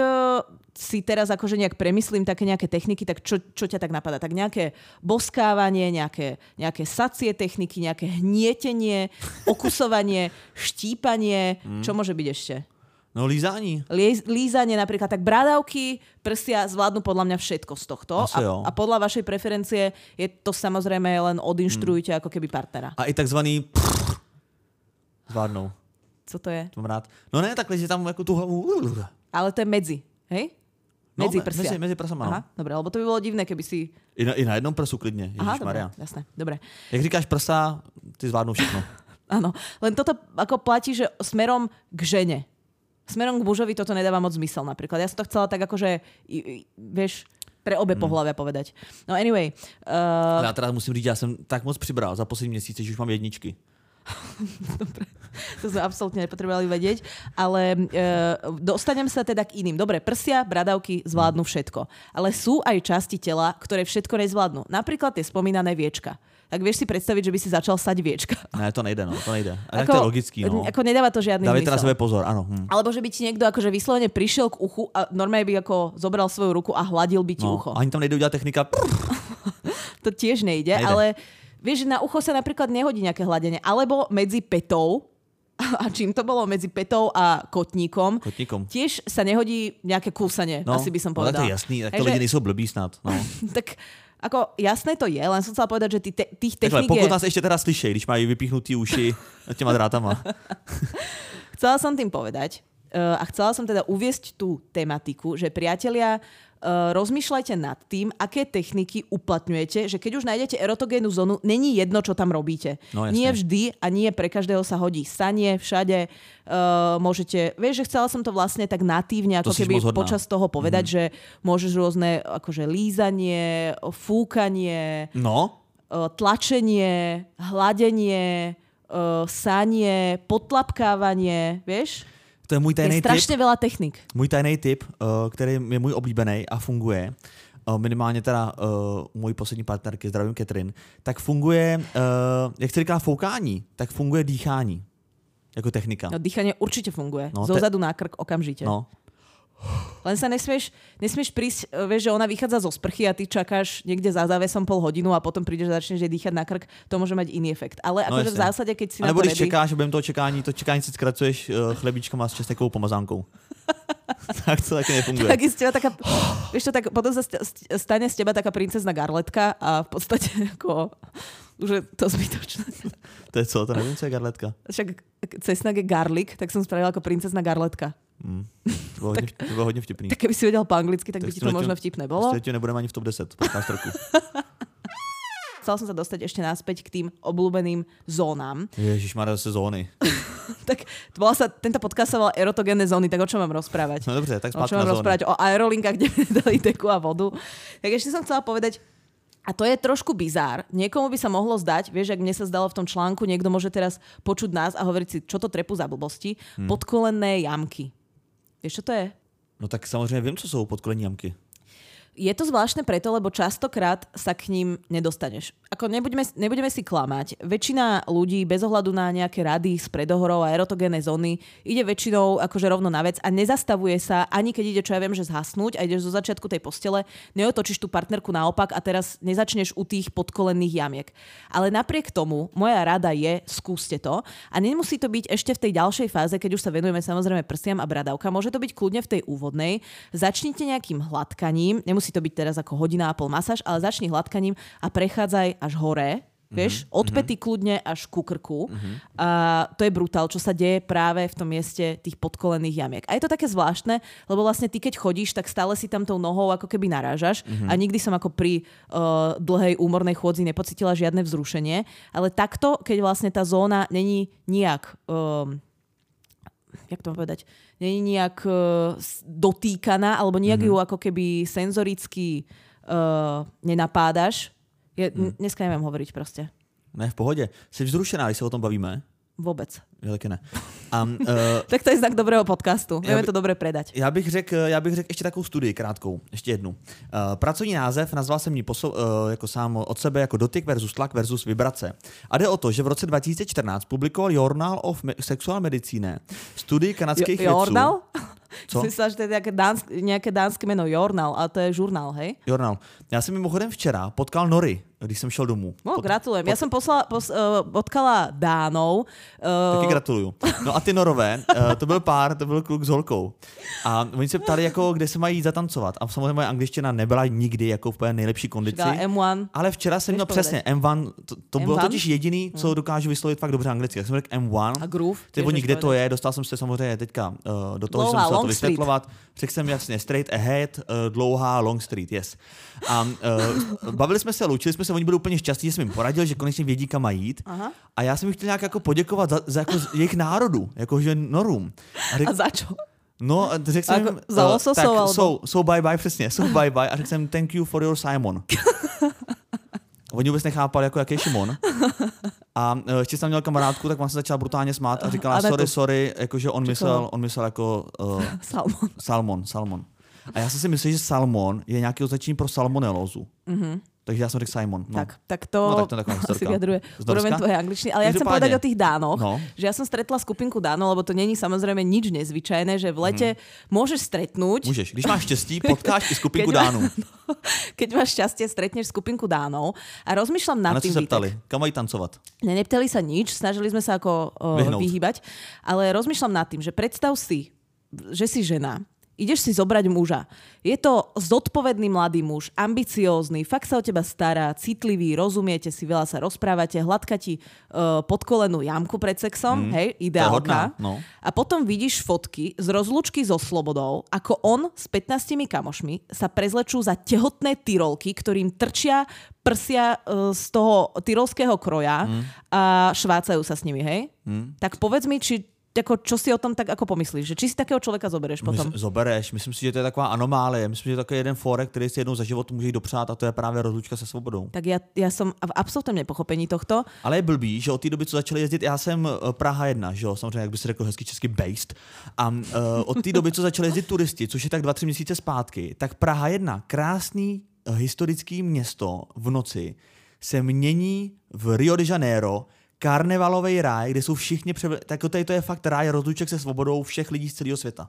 si teraz akože nejak premyslím také nejaké techniky, tak čo, čo ťa tak napadá? Tak nejaké boskávanie, nejaké, nejaké sacie techniky, nejaké hnietenie, okusovanie, štípanie, mm. čo môže byť ešte? No lízání. Líz, lízanie napríklad, tak brádavky, prsia zvládnu podľa mňa všetko z tohto. A, a podľa vašej preferencie je to samozrejme len odinštruujte hmm. ako keby partnera. A i takzvaný pff, zvládnou. Co to je? To mám rád. No ne, takhle, že tam jako tu hlavu. Ale to je medzi, hej? Medzi no, prsia. Medzi, medzi prsama, Aha, dobre, lebo to by bolo divné, keby si... I na, i na jednom prsu klidne, ježišmaria. Aha, dobre, jasné, dobre. Jak říkáš prsa, ty zvládnou všechno. Áno, len toto ako platí, že smerom k žene. Smerom k mužovi toto nedáva moc zmysel napríklad. Ja som to chcela tak akože, vieš, pre obe hmm. pohlavia povedať. No anyway. Uh... Já teda musím říct, já jsem tak moc přibral za poslední měsíce, že už mám jedničky. Dobre, to sme absolútne nepotrebovali vedieť, ale uh, dostanem sa teda k iným. Dobre, prsia, bradavky zvládnu všetko. Ale sú aj časti tela, ktoré všetko nezvládnu. Napríklad tie spomínané viečka. Tak vieš si predstaviť, že by si začal sať viečka. Ne, to nejde, no, to nejde. A ako, to je logický, no. Ako nedáva to žiadny zmysel. Dávajte na sebe pozor, áno. Hm. Alebo že by ti niekto akože vyslovene prišiel k uchu a normálne by ako zobral svoju ruku a hladil by ti no, ucho. Ani tam nejde udělat technika. To tiež nejde, nejde, ale vieš, že na ucho sa napríklad nehodí nejaké hladenie. Alebo medzi petou, a čím to bolo medzi petou a kotníkom, kotníkom. Tiež sa nehodí nejaké kúsanie, no, asi by som No povedala. tak to je jasný, tak to lidi nejsou blbí snad. No. Tak ako jasné to je, len som chcela povedať, že tý te, tých techník je... Pokud nás ešte teraz slyšej, když mají vypichnutý uši těma drátama. Chcela som tým povedať uh, a chcela som teda uviesť tú tematiku, že priatelia, uh, rozmýšľajte nad tým, aké techniky uplatňujete, že keď už nájdete erotogénnu zónu, není jedno, čo tam robíte. No, nie vždy a nie pre každého sa hodí sanie, všade uh, môžete, vieš, že chcela som to vlastne tak natívne, ako to keby počas toho povedať, mm-hmm. že môžeš rôzne akože lízanie, fúkanie, no. uh, tlačenie, hladenie, uh, sanie, podtlapkávanie, vieš? To je můj tajný tip. Je strašně veľa technik. Můj tajný tip, uh, který je můj oblíbený a funguje, uh, minimálně teda uh, u mojí poslední partnerky, zdravím Catherine, tak funguje, uh, jak se říká foukání, tak funguje dýchání jako technika. No, dýchanie určite funguje. No, Zozadu te... na krk okamžite. No. Len sa nesmieš, nesmieš prísť, vieš, že ona vychádza zo sprchy a ty čakáš niekde za závesom pol hodinu a potom prídeš a začneš dýchať na krk, to môže mať iný efekt. Ale no akože v zásade, keď si a na to nebo když ready... čekáš a během toho čekání, to čekání si skracuješ uh, chlebíčkama s česnekovou pomazánkou. Tak to taky nefunguje. Tak z teba taká, vieš to, tak potom sa stane z teba taká princezna garletka a v podstate ako už je to zbytočné. To je co? To nevím, co je garletka. Však cesnak je garlic, tak som spravila ako princezna garletka. Mm. To, bylo hodně, to bylo hodně vtipný. Tak keby si vedel po anglicky, tak, tak by ti to možno vtipné bolo. Prostě nebudeme ani v top deset podcast roku. Chcela som sa dostať ešte naspäť k tým obľúbeným zónám. Ježišmarja, zase zóny. Tak bola sa, tento podcast sa volal erotogénne zóny, tak o čom mám rozprávať? No dobře, tak spátky na zóny. O čom mám rozprávať? O aerolinkách, kde dali teku a vodu. Tak ešte som chcela povedať, a to je trošku bizár. Niekomu by sa mohlo zdať, vieš, ak mne sa zdalo v tom článku, niekto môže teraz počuť nás a hovoriť si, čo to trepu za blbosti, hmm. podkolenné jamky. Vieš, čo to je? No tak samozřejmě vím, co jsou podkolení jamky. Je to zvláštne preto, lebo častokrát sa k ním nedostaneš. Ako nebudeme, nebudeme si klamať. Väčšina ľudí bez ohľadu na nejaké rady z predohorov a erotogénne zóny ide väčšinou akože rovno na vec a nezastavuje sa, ani keď ide, čo ja viem, že zhasnúť a ideš zo začiatku tej postele, neotočíš tú partnerku naopak a teraz nezačneš u tých podkolenných jamiek. Ale napriek tomu, moja rada je, skúste to a nemusí to byť ešte v tej ďalšej fáze, keď už sa venujeme samozrejme prstiam a bradavka. Môže to byť kľudne v tej úvodnej. Začnite nejakým hladkaním, nemusí Musí to byť teraz ako hodina a pol masáž, ale začni hladkaním a prechádzaj až hore, vieš, mm-hmm. od päty kľudne až ku krku. Mm-hmm. A to je brutál, čo sa deje práve v tom mieste tých podkolených jamiek. A je to také zvláštne, lebo vlastne ty, keď chodíš, tak stále si tam tou nohou ako keby narážaš mm-hmm. a nikdy som ako pri uh, dlhej úmornej chôdzi nepocítila žiadne vzrušenie. Ale takto, keď vlastne tá zóna není nijak... Um, jak to povedať, nie je nejak uh, dotýkaná, alebo nejak mm-hmm. ju ako keby senzoricky uh, nenapádaš. Je, mm. Dneska neviem hovoriť proste. Ne, v pohodě. Jsi vzrušená, když se o tom bavíme? Vůbec. Já taky ne. Um, uh, tak to je znak dobrého podcastu. Vieme to dobre predať. Já bych řekl já bych řekl ještě takovou studii krátkou. Ještě jednu. Uh, pracovní název nazval jsem ji posou, uh, jako sám od sebe jako dotyk versus tlak versus vibrace. A jde o to, že v roce dva tisíce čtrnáct publikoval Journal of Sexual Medicine studii kanadských vědců. Journal? Co? Si myslel, že to je nejaké dánsk, nejaké dánské meno, Journal, a to je žurnál, hej? Journal. Já jsem mimochodem včera potkal Nory, když jsem šel domů. No, Pot, gratulujem. Pot... Ja som poslala, pos, uh, potkala Dánov. Uh... Taky gratuluju. No a ty Norové, uh, to byl pár, to byl kluk s holkou. A oni se ptali, jako, kde se mají zatancovat. A samozřejmě moje angličtina nebyla nikdy jako v nejlepší kondici. M jedna. Ale včera jsem měl přesně M jedna, to, to bylo totiž jediný, co hmm. dokážu vyslovit fakt dobře anglicky. Tak jsem řekl M jedna. A groove. Ty oni, kde to je, dostal jsem se samozřejmě teďka uh, do toho, že jsem musel to vysvětlovat. Řekl jsem jasně straight ahead, uh, dlouhá long street, yes. A uh, bavili jsme se, loučili jsme se, oni byli úplně šťastní, že jsem jim poradil, že konečně vědí, kam mají jít. Aha. A já jsem jim chtěl nějak jako poděkovat za, za jako jejich národu, jakože Norům. A, řek, a za čo? No, řekl jsem jim, za uh, tak, so, so, so bye bye, přesně, so bye bye. A řekl jsem thank you for your Simon. Oni vůbec nechápali, jako jaký je Šimon. A ještě jsem měl kamarádku, tak vám se začala brutálně smát a říkala, a sorry, sorry, jakože on myslel, on myslel jako... Uh, salmon. Salmon, salmon. A já jsem si myslel, že salmon je nějaký označení pro salmonelózu. Mm-hmm. Takže já jsem řekl Simon. No. Tak, tak to, no, tak to asi vyjadruje úroveň tvojej angličtiny. Ale ja chcem povedať o tých Dánoch, no. že ja som stretla skupinku Dánov, lebo to není samozrejme nič nezvyčajné, že v lete hmm. môžeš stretnúť. Môžeš, když máš šťastí, potkáš i skupinku Dánov. No, keď máš šťastie, stretneš skupinku Dánov a rozmýšľam nad tým. A na čo sa ptali? Kam mají tancovať? Ne, neptali sa nič, snažili sme sa ako uh, vyhýbať, ale rozmýšľam nad tým, že predstav si, že si žena, Ideš si zobrať muža. Je to zodpovedný mladý muž, ambiciózny, fakt sa o teba stará, citlivý, rozumiete si, veľa sa rozprávate, hladka ti uh, podkolenú jamku pred sexom, mm, hej, ideálka. No. A potom vidíš fotky z rozlúčky so Slobodou, ako on s pätnástimi kamošmi sa prezlečú za tehotné tyrolky, ktorým trčia prsia uh, z toho tyrolského kroja mm. a švácajú sa s nimi, hej? Mm. Tak povedz mi, či Jako, čo si o tom tak ako pomyslíš? Že či si takého člověka zobereš potom? My, zobereš. Myslím si, že to je taková anomálie. Myslím, že je takový jeden fórek, který si jednou za život může jít dopřát a to je právě rozlučka se svobodou. Tak já, já jsem v absolutním nepochopení tohto. Ale je blbý, že od té doby, co začali jezdit, já jsem Praha jedna, že jo, samozřejmě, jak by se řekl hezky česky based. A uh, od té doby, co začali jezdit turisti, což je tak dva, tři měsíce zpátky, tak Praha jedna, krásný uh, historický město v noci, se mění v Rio de Janeiro karnevalový ráj, kde jsou všichni převl... tak tady to je fakt ráj rozluček se svobodou všech lidí z celého světa.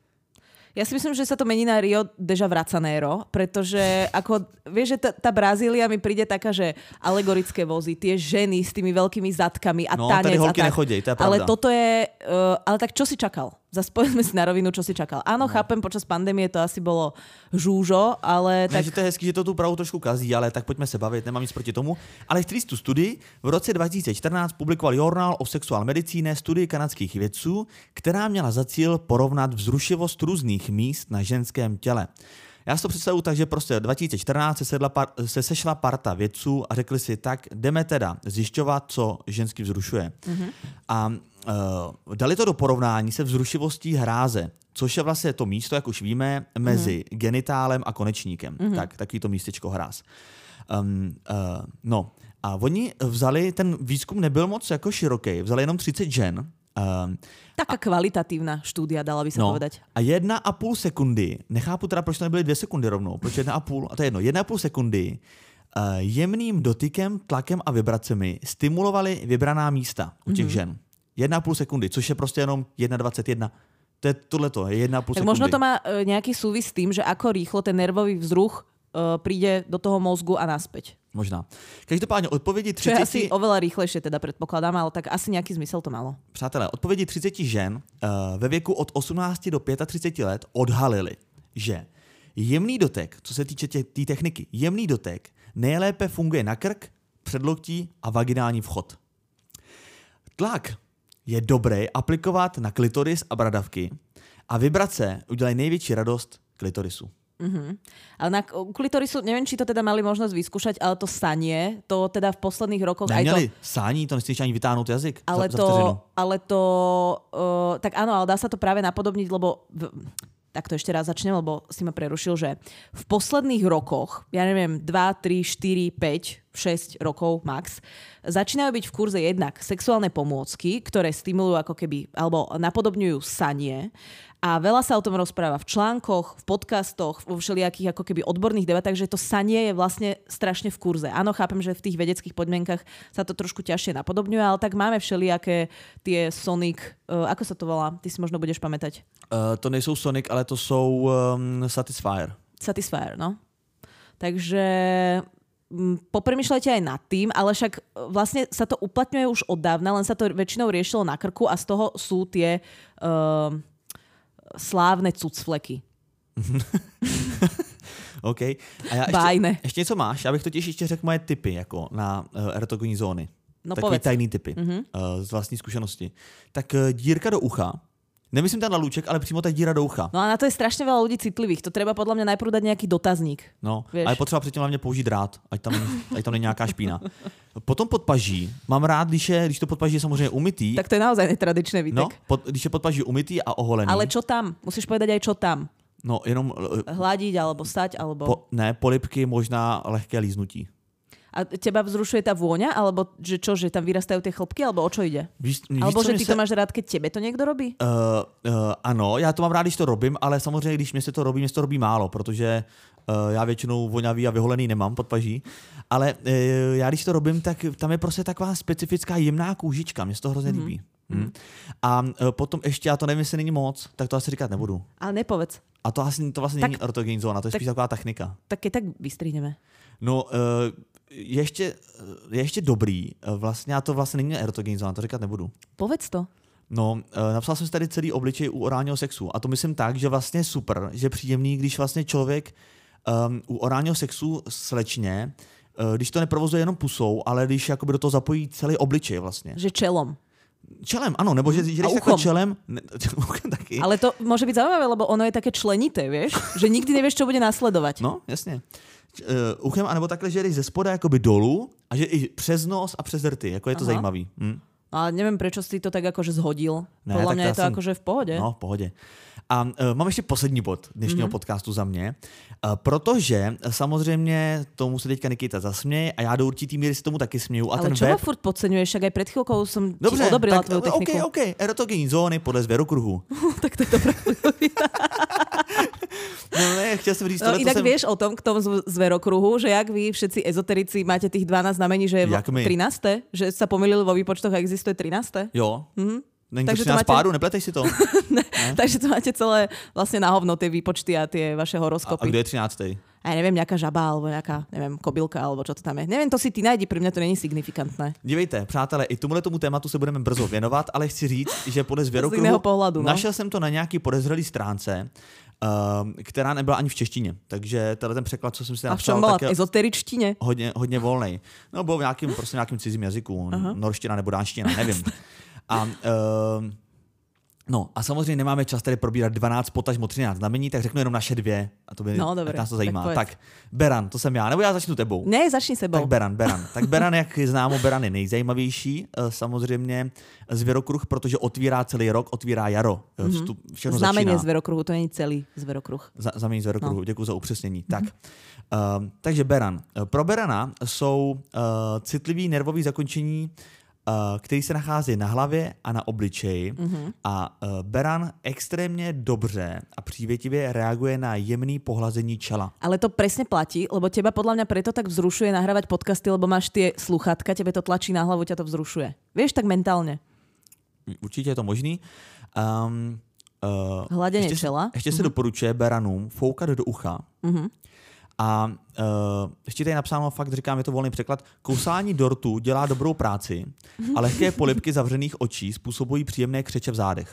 Ja si myslím, že sa to mení na Rio de Janeiro, pretože ako, vieš, že tá, tá Brazília mi príde taká, že alegorické vozy, tie ženy s tými veľkými zadkami a no, tanec. No, tady holky a tak. nechodí, to je pravda. Ale toto je, uh, ale tak čo si čakal? Zas povedzme si na rovinu, čo si čakal. Áno, no. Chápem, počas pandémie to asi bolo žúžo, ale ne, tak... že to je hezký, že to tu Prahu trošku kazí, ale tak pojďme se bavit, nemám nic proti tomu. Ale chci tu studii v roce dva tisíce čtrnáct publikoval Journal of Sexual Medicine studii kanadských vědců, která měla za cíl porovnat vzrušivost různých míst na ženském těle. Já si to představuji tak, že prostě dva tisíce čtrnáct se, sedla par, se sešla parta vědců a řekli si, tak jdeme teda zjišťovat, co žensky vzrušuje. Mm-hmm. A uh, dali to do porovnání se vzrušivostí hráze, což je vlastně to místo, jak už víme, mezi mm-hmm. genitálem a konečníkem. Mm-hmm. Tak, takový to místečko hráz. Um, uh, no a oni vzali, ten výzkum nebyl moc jako široký, vzali jenom třicet žen. Um, Taká kvalitatívna štúdia, dala by sa no, povedať. A jedna a půl sekundy, nechápu teda, proč to nebyly dvě sekundy rovnou, proč jedna a půl, a to je jedno, jedna a půl sekundy uh, jemným dotykem, tlakem a vibracemi stimulovali vybraná místa u těch mm-hmm. žen. Jedna a půl sekundy, což je prostě jenom jedna dvacet jedna. To je tohleto, je jedna a půl tak sekundy. Možno to má uh, nejaký súvis s tým, že ako rýchlo ten nervový vzruch uh, príde do toho mozgu a naspäť. Možná. Každopádně odpovědi třicet... Čo je asi oveľa rýchlejšie, teda predpokladám, ale tak asi nějaký zmysel to malo. Přátelé, odpovědi třicet žen uh, ve věku od osmnácti do třiceti pěti let odhalili, že jemný dotek, co se týče té tě, techniky, jemný dotek nejlépe funguje na krk, předloktí a vaginální vchod. Tlak je dobré aplikovat na klitoris a bradavky a vibrace udělají největší radost klitorisu. Uh-huh. Ale na klitorisu, neviem, či to teda mali možnosť vyskúšať, ale to sanie, to teda v posledných rokoch... Neměli aj to... sání, to nechceš ani vytáhnout jazyk ale za, to, za ale to... Uh, tak áno, ale dá sa to práve napodobniť, lebo... V, tak to ešte raz začnem, lebo si ma prerušil, že v posledných rokoch, ja neviem, dva, tri, štyri, päť, šesť rokov max, začínajú byť v kurze jednak sexuálne pomôcky, ktoré stimulujú ako keby, alebo napodobňujú sanie. A veľa sa o tom rozpráva v článkoch, v podcastoch, vo všelijakých ako keby odborných debatách, že to sanie je vlastne strašne v kurze. Áno, chápem, že v tých vedeckých podmienkach sa to trošku ťažšie napodobňuje, ale tak máme všelijaké tie Sonic, uh, ako sa to volá? Ty si možno budeš pamätať. Uh, to nejsou Sonic, ale to jsou um, Satisfyer. Satisfyer, no. Takže popremýšľajte aj nad tým, ale však vlastne sa to uplatňuje už od dávna, len sa to väčšinou riešilo na krku a z toho sú tie... Uh, slávne cucfleky. OK. A já ještě, ještě něco máš? Já bych totiž ještě řekl moje tipy jako na uh, erotogenní zóny. No Takový povedz. tajný tipy uh-huh. uh, z vlastní zkušenosti. Tak uh, dírka do ucha. Nemyslím ten lalúček, ale přímo ta díra do ucha. No a na to je strašně veľa ľudí citlivých. To treba podľa mňa najprv dať nejaký dotazník. No, vieš? A je potřeba předtím hlavně použít drát, ať tam, ať tam není nějaká špína. Potom podpaží. Mám rád, když, je, když to podpaží je samozřejmě umytý. Tak to je naozaj netradičné, Vítek. No, pod, když je podpaží umytý a oholený. Ale čo tam? Musíš povedať aj čo tam. No, jenom... Hladiť, alebo stať, alebo... Po, ne, polipky, možná lehké líznutí. A teba vzrušuje tá vôňa? Alebo že čo, že tam vyrastajú tie chlpky? Alebo o čo ide? Víš, víš, alebo že ty se... to máš rád, keď tebe to niekto robí? Uh, uh, ano, já to mám rád, když to robím, ale samozřejmě, když mě se to robí, mě se to robí málo, protože uh, já většinou voňavý a vyholený nemám pod paží. Ale uh, já když to robím, tak tam je prostě taková specifická jemná kůžička, mě se to hrozně mm-hmm. líbí. Mm. A uh, potom ještě, já to nevím, jestli není moc, tak to asi říkat nebudu. Ale nepovedz. A to asi to vlastně tak, není erotogenní zóna, to je tak, spíš taková technika. Tak keď tak vystrihneme. No, uh, ještě, je ještě dobrý, vlastně já to vlastně není erotogenní zóna, to říkat nebudu. Povedz to. No, napsal jsem si tady celý obličej u orálního sexu a to myslím tak, že vlastně super, že příjemný, když vlastně člověk um, u orálního sexu slečně, uh, když to neprovozuje jenom pusou, ale když jakoby do toho zapojí celý obličej vlastně. Že čelom. Čelem, ano, nebo že, že když takhle čelem... Ne, taky. Ale to môže byť zaujímavé, lebo ono je také členité, vieš? Že nikdy nevieš, čo bude následovať. No, jasně. Uh, uchem, anebo takhle, že jdeš ze spoda jakoby dolů a že i přes nos a přes rty, jako je to Aha. zajímavý. Hm? Ale neviem, prečo si to tak akože zhodil. Ne, Podľa mňa je to jsem... akože v pohode. No, v pohodě. A uh, mám ještě poslední bod dnešního mm-hmm. podcastu za mě, uh, protože samozřejmě tomu se teďka Nikita zasměje a já do určitý míry si tomu taky směju. A ale ten čo web... ma furt podceňuješ? Však aj pred chvíľkou som Dobře, ti odobrila tak, tvoju techniku. OK, OK. Erotogenní zóny podle zverokruhu. Tak to je dobré. No ne, chtěl jsem říct... No inak jsem... vieš o tom, k tomu zverokruhu, že jak vy všetci ezoterici máte tých dvanásť znamení, že je trináste? Že sa pomýlili vo výpočtoch a existuje trináste? Jo. Mhm. Není to třináct máte... páru, nepletej si to. ne, ne? Takže to máte celé vlastne na hovno, tie výpočty a tie vaše horoskopy. A, a kde je třináctej? A ja neviem, nejaká žaba, alebo nejaká, neviem, kobylka, alebo čo to tam je. Neviem, to si ty najdi, pre mňa to není signifikantné. Dívejte, přátelé, i tomuhle tomu tématu se budeme brzo věnovat, ale chci říct, že podle zvěrokruhu pohľadu, no? Našel jsem to na nějaký podezřelý stránce, uh, která nebyla ani v češtině. Takže tenhle ten překlad, co jsem si napsal, a v čom bola? V ezoteričtine? Hodně, hodně volnej. No, byl v nějakým, prostě nějakým cizím jazyku, uh-huh. norština nebo dánština, nevím. A uh, No a samozřejmě nemáme čas tady probírat dvanáct, potažmo třináct znamení, tak řeknu jenom naše dvě. A to by no, dobré, nás to zajímá. Tak, tak Beran, to jsem já, nebo já začnu tebou. Ne, začni sebou. Tak Beran, Beran. Tak Beran, jak známo, Beran je nejzajímavější, samozřejmě zvěrokruh, protože otvírá celý rok, otvírá jaro. Vstup, všechno znamení začíná. zvěrokruhu, to není celý zvěrokruh. Za, znamení zvěrokruhu, no. Děkuji za upřesnění. Mm-hmm. Tak, uh, takže Beran. Pro Berana jsou uh, citlivý nervový zakončení, který se nachází na hlavě a na obličeji. Mm-hmm. A uh, Beran extrémně dobře a přívětivě reaguje na jemný pohlazení čela. Ale to presne platí, lebo teba podľa mňa preto tak vzrušuje nahrávať podcasty, lebo máš tie sluchátka, tebe to tlačí na hlavu, ťa to vzrušuje. Vieš, tak mentálne. Určitě je to možný. Um, uh, Hladenie ještě čela. Se, ještě mm-hmm. se doporučuje Beranům foukat do ucha. Mm-hmm. A uh, ještě tady je napsáno, fakt říkám, je to volný překlad, kousání dortu dělá dobrou práci a lehké polibky zavřených očí způsobují příjemné křeče v zádech.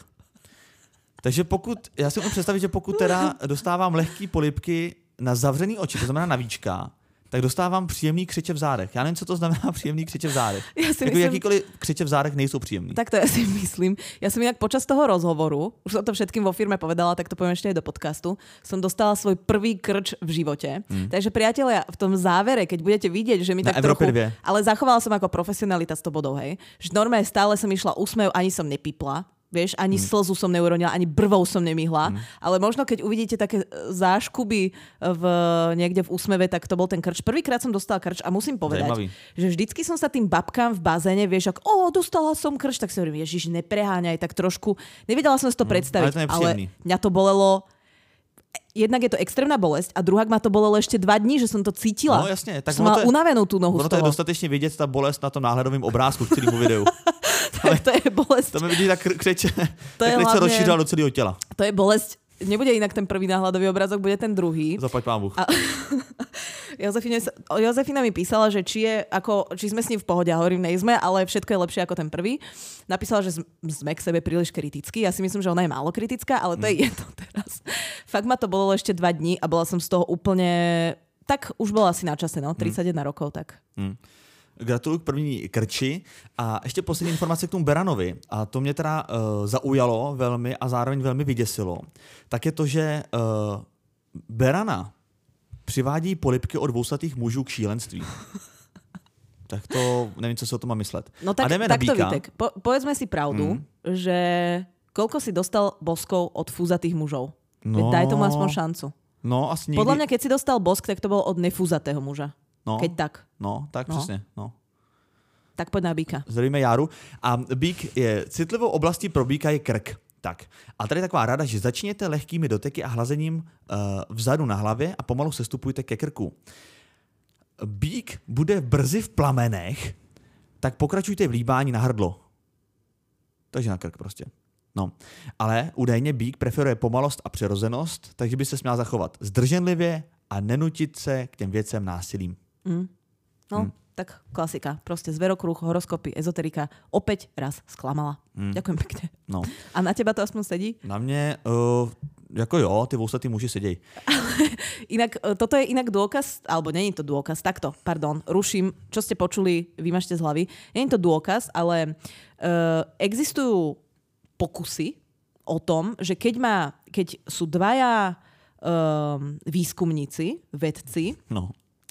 Takže pokud, já si můžu představit, že pokud teda dostávám lehké polibky na zavřený oči, to znamená na víčka, tak dostávám příjemný křeče v zádech. Já nevím, co to znamená příjemný křeče v zádech. Ja si jako myslím... Jakýkoliv křeče v zádech nejsou příjemný. Tak to ja si myslím. Ja som inak počas toho rozhovoru, už som to všetkým vo firme povedala, tak to poviem ešte aj do podcastu, som dostala svoj prvý krč v živote. Hmm. Takže priatelia, v tom závere, keď budete vidieť, že mi na tak Európe trochu... dve. Ale zachovala som ako profesionalita sto bodov, hej. Že normálne stále som išla úsmev, ani som nepipla. Vieš, ani hmm. slzu som neuronila, ani brvou som nemihla, hmm. ale možno keď uvidíte také záškuby v, niekde v úsmeve, tak to bol ten krč. Prvýkrát som dostala krč a musím povedať, Zajímavý. že vždycky som sa tým babkám v bazéne, vieš, ako, o, dostala som krč, tak si hovorím, ježiš, nepreháňaj, tak trošku, nevedela som si to hmm. predstaviť, ale, ale mňa to bolelo. Jednak je to extrémna bolesť a druhák ma to bolelo ešte dva dní, že som to cítila. No jasne. Tak som mala unavenú tú nohu ono z toho. To je dostatečne vidieť tá bolesť na tom náhľadovým obrázku, k celému videu. tak to je bolesť. To mi vidí tak křeče, to tak hlavne, sa rozšířila do celého tela. To je bolesť. Nebude inak ten prvý náhľadový obrázok, bude ten druhý. Zaplať pán Bůh. A... Jozefina, Jozefina mi písala, že či, je ako, či sme s ním v pohode. A hovorím, nejsme, ale všetko je lepšie ako ten prvý. Napísala, že sme k sebe príliš kritickí. Ja si myslím, že ona je málo kritická, ale to mm. je jedno teraz. Fakt ma to bolo ešte dva dní a bola som z toho úplne... Tak už bola asi na čase, no. tridsaťjeden mm. rokov, tak... Mm. Gratuluju k první krči a ještě poslední informace k tomu Beranovi a to mě teda uh, zaujalo velmi a zároveň velmi vyděsilo. Tak je to, že uh, Berana přivádí polibky od dvousatých mužů k šílenství. Tak to nevím, co si o tom mám myslet. No tak, a jdeme tak na to Vítek, po, povedzme si pravdu, mm. že koľko si dostal boskov od fúzatých mužov? No, daj tomu aspoň šancu. No, asi nikdy... Podľa mňa, keď si dostal bosk, tak to bol od nefúzatého muža. No, keď tak. No, tak no. přesně. No. Tak pojď na býka. Zdravíme Járu. A býk je, citlivou oblastí pro býka je krk. Tak. A tady je taková rada, že začněte lehkými doteky a hlazením uh, vzadu na hlavě a pomalu sestupujte ke krku. Býk bude brzy v plamenech, tak pokračujte v líbání na hrdlo. Takže na krk prostě. No, ale údajně býk preferuje pomalost a přirozenost, takže by se směl zachovat zdrženlivě a nenutit se k těm věcem násilím. Mm. No, mm. tak klasika. Proste zverokruh, horoskopy, ezoterika opäť raz sklamala. Mm. Ďakujem pekne. No. A na teba to aspoň sedí? Na mne, uh, ako jo, ty vousatý muži sedej. Inak, toto je inak dôkaz, alebo nie je to dôkaz, takto, pardon, ruším, čo ste počuli, vymažte z hlavy. Nie je to dôkaz, ale uh, existujú pokusy o tom, že keď, má, keď sú dvaja uh, výskumníci, vedci, no.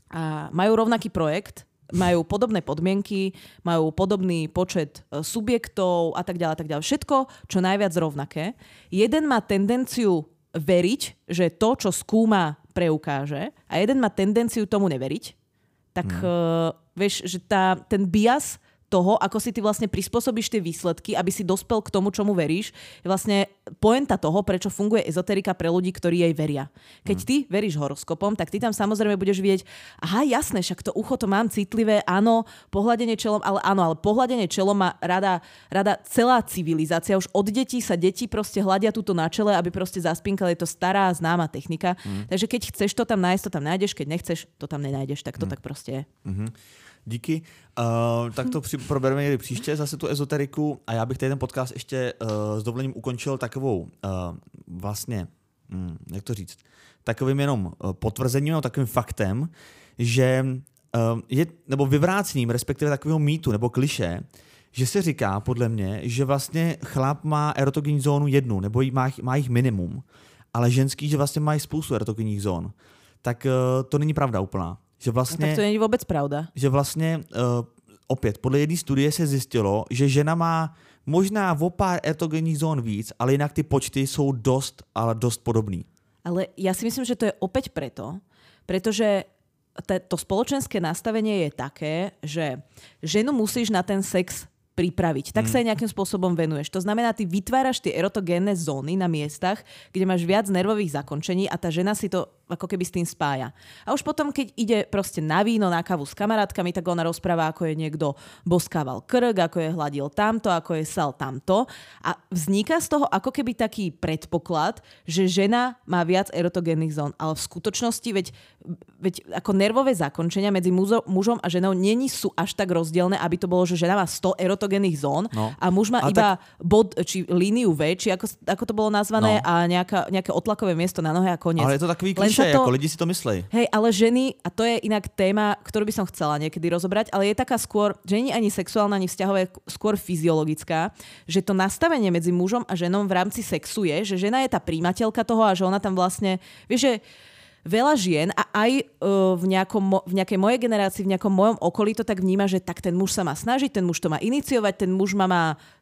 a majú rovnaký projekt, majú podobné podmienky, majú podobný počet subjektov a tak ďalej, tak ďalej. Všetko, čo najviac rovnaké. Jeden má tendenciu veriť, že to, čo skúma, preukáže a jeden má tendenciu tomu neveriť. Tak hmm. uh, vieš, že tá, ten bias toho, ako si ty vlastne prispôsobíš tie výsledky, aby si dospel k tomu, čomu veríš, je vlastne pointa toho, prečo funguje ezoterika pre ľudí, ktorí jej veria. Keď ty veríš horoskopom, tak ty tam samozrejme budeš vidieť, aha, jasné, však to ucho to mám citlivé, áno, pohľadenie čelom, ale áno, ale pohľadenie čelom má rada, rada celá civilizácia. Už od detí sa deti proste hľadia túto na čele, aby proste zaspinkali. Je to stará, známa technika. Mm. Takže keď chceš to tam nájsť, to tam nájdeš, keď nechceš, to tam nenájdeš. Tak to mm. tak proste je. Mm-hmm. Díky. Uh, tak to při, probereme někdy příště, zase tu ezoteriku a já bych tady ten podcast ještě uh, s dovolením ukončil takovou uh, vlastně, hm, jak to říct, takovým jenom uh, potvrzením, no, takovým faktem, že uh, je, nebo vyvrácením, respektive takového mýtu nebo klišé, že se říká podle mě, že vlastně chlap má erotogenní zónu jednu, nebo jí má, má jich minimum, ale ženský, že vlastně mají spoustu erotogenních zón. Tak uh, to není pravda úplná. Že vlastně, no, tak to není vůbec pravda. Že vlastně uh, opět, podle jedné studie se zjistilo, že žena má možná o pár erotogenních zón víc, ale jinak ty počty jsou dost, ale dost podobný. Ale ja si myslím, že to je opäť preto, pretože to spoločenské nastavenie je také, že ženu musíš na ten sex pripraviť. Tak mm. sa aj nejakým spôsobom venuješ. To znamená, ty vytváraš tie erotogénne zóny na miestach, kde máš viac nervových zakončení a tá žena si to ako keby s tým spája. A už potom, keď ide proste na víno, na kávu s kamarátkami, tak ona rozpráva, ako je niekto boskával krk, ako je hladil tamto, ako je sal tamto. A vzniká z toho ako keby taký predpoklad, že žena má viac erotogénnych zón. Ale v skutočnosti, veď, veď ako nervové zakončenia medzi mužo, mužom a ženou není sú až tak rozdielne, aby to bolo, že žena má sto erotogénnych zón no. a muž má a iba tak... bod, či líniu V, či ako, ako to bolo nazvané, no. a nejaká, nejaké otlakové miesto na nohe a koniec. Ale je to takový klišé, to, ako lidi si to myslej. Hej, ale ženy, a to je inak téma, ktorú by som chcela niekedy rozobrať, ale je taká skôr, že nie ani sexuálna, ani vzťahová, skôr fyziologická, že to nastavenie medzi mužom a ženou v rámci sexu je, že žena je tá príjmateľka toho a že ona tam vlastne, vieš, že veľa žien a aj uh, v, nejakom, v nejakej mojej generácii, v nejakom mojom okolí to tak vníma, že tak ten muž sa má snažiť, ten muž to má iniciovať, ten muž ma má,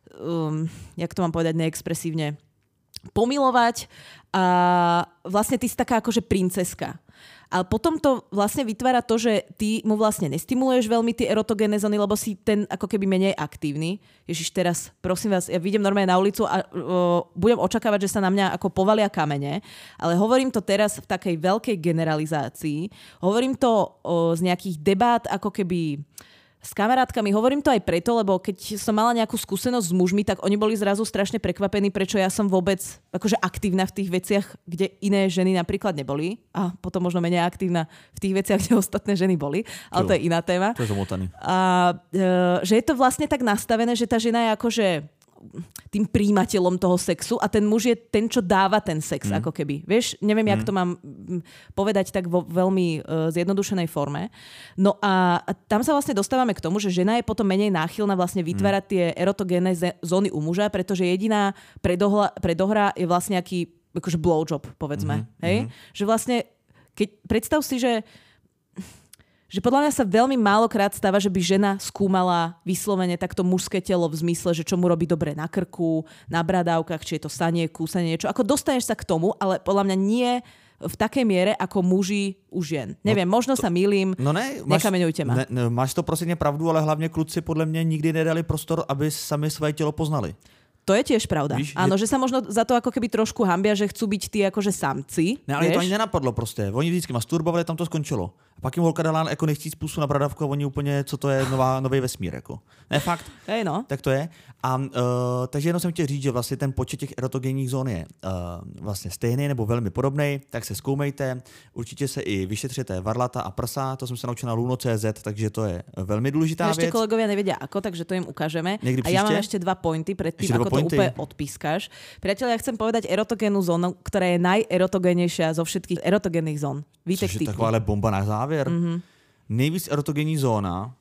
um, jak to mám povedať neexpresívne, pomilovať a vlastne ty si taká akože princeska. Ale potom to vlastne vytvára to, že ty mu vlastne nestimuluješ veľmi tie erotogénne zóny, lebo si ten ako keby menej aktívny. Ježiš, teraz prosím vás, ja vyjdem normálne na ulicu a uh, budem očakávať, že sa na mňa ako povalia kamene, ale hovorím to teraz v takej veľkej generalizácii. Hovorím to uh, z nejakých debát ako keby s kamarátkami. Hovorím to aj preto, lebo keď som mala nejakú skúsenosť s mužmi, tak oni boli zrazu strašne prekvapení, prečo ja som vôbec akože aktívna v tých veciach, kde iné ženy napríklad neboli. A potom možno menej aktívna v tých veciach, kde ostatné ženy boli. Ale to je iná téma. To je zamotaný. A e, že je to vlastne tak nastavené, že tá žena je akože tým príjimateľom toho sexu a ten muž je ten, čo dáva ten sex, mm. ako keby. Vieš, neviem, mm. jak to mám povedať tak vo veľmi uh, zjednodušenej forme. No a, a tam sa vlastne dostávame k tomu, že žena je potom menej náchylná vlastne vytvárať mm. tie erotogénne zóny u muža, pretože jediná predohla, predohra je vlastne nejaký akože blowjob, povedzme. Mm. Hej? Mm. Že vlastne, keď predstav si, že že podľa mňa sa veľmi málokrát stáva, že by žena skúmala vyslovene takto mužské telo v zmysle, že čo mu robí dobre na krku, na bradávkach, či je to sanie, kúsanie, niečo. Ako dostaneš sa k tomu, ale podľa mňa nie v takej miere, ako muži u žien. Neviem, no, možno to, sa mýlim, no ne, nekameňujte ma. Ne, ne, máš to prosím pravdu, ale hlavne kluci podľa mňa nikdy nedali prostor, aby sami svoje telo poznali. To je tiež pravda. Víš, áno, je... že sa možno za to ako keby trošku hambia, že chcú byť tí akože samci. Ne, ale to ani nenapadlo proste. Oni vždycky masturbovali, tam to skončilo. A pak jim holka dala jako nechtíc pusu na bradavku a oni úplně, co to je nová, nový vesmír. Jako. Ne, fakt. Hej, no. Tak to je. A, uh, takže jenom jsem chtěl říct, že vlastně ten počet těch erotogenních zón je uh, vlastně stejný nebo velmi podobný, tak se zkoumejte. Určitě se i vyšetřete varlata a prsa, to jsem se naučil na luno tečka cé zet, takže to je velmi důležitá věc. Ešte kolegovia nevedia ako, takže to im ukážeme. Někdy a ja mám ešte dva pointy pred tým, ako pointy? To úplne odpískaš. Priatelia, ja chcem povedať erotogénnu zónu, ktorá je najerotogénejšia zo všetkých erotogénnych zón. Vítek Což je taková bomba na závěr. Mm-hmm. Nejvíc erotogenní zóna.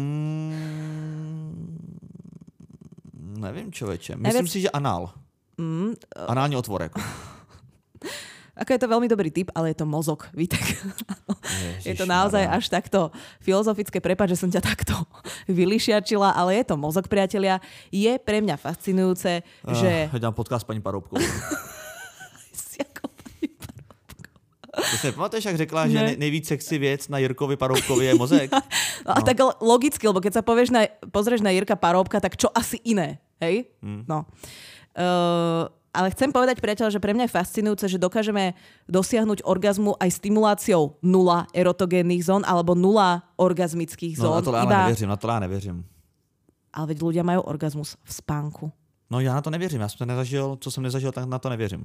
Mm, nevím, člověče. Myslím Nejvíc... si, že anál. Mm, Anální otvor. Jako. Ako je to veľmi dobrý tip, ale je to mozog, Vítek. Je to naozaj až takto filozofické, prepáč, že som ťa takto vylišiačila, ale je to mozog, priatelia. Je pre mňa fascinujúce, uh, že... Dám podcast paní Paroubkovou. To si nepamatuješ, jak řekla, ne. že nejvíc sexy věc na Jirkovi Paroubkovi je mozek? No, no. A tak logicky, lebo keď sa povieš na, pozrieš na Jirka Paroubka, tak čo asi iné, hej? Hmm. No. Uh, ale chcem povedať, priateľ, že pre mňa je fascinujúce, že dokážeme dosiahnuť orgazmu aj stimuláciou nula erotogénnych zón alebo nula orgazmických zón. No na to já Iba... nevěřím, na to já nevěřím. Ale veď ľudia majú orgazmus v spánku. No já na to nevěřím, já jsem to nezažil, co jsem nezažil, tak na to nevěřím.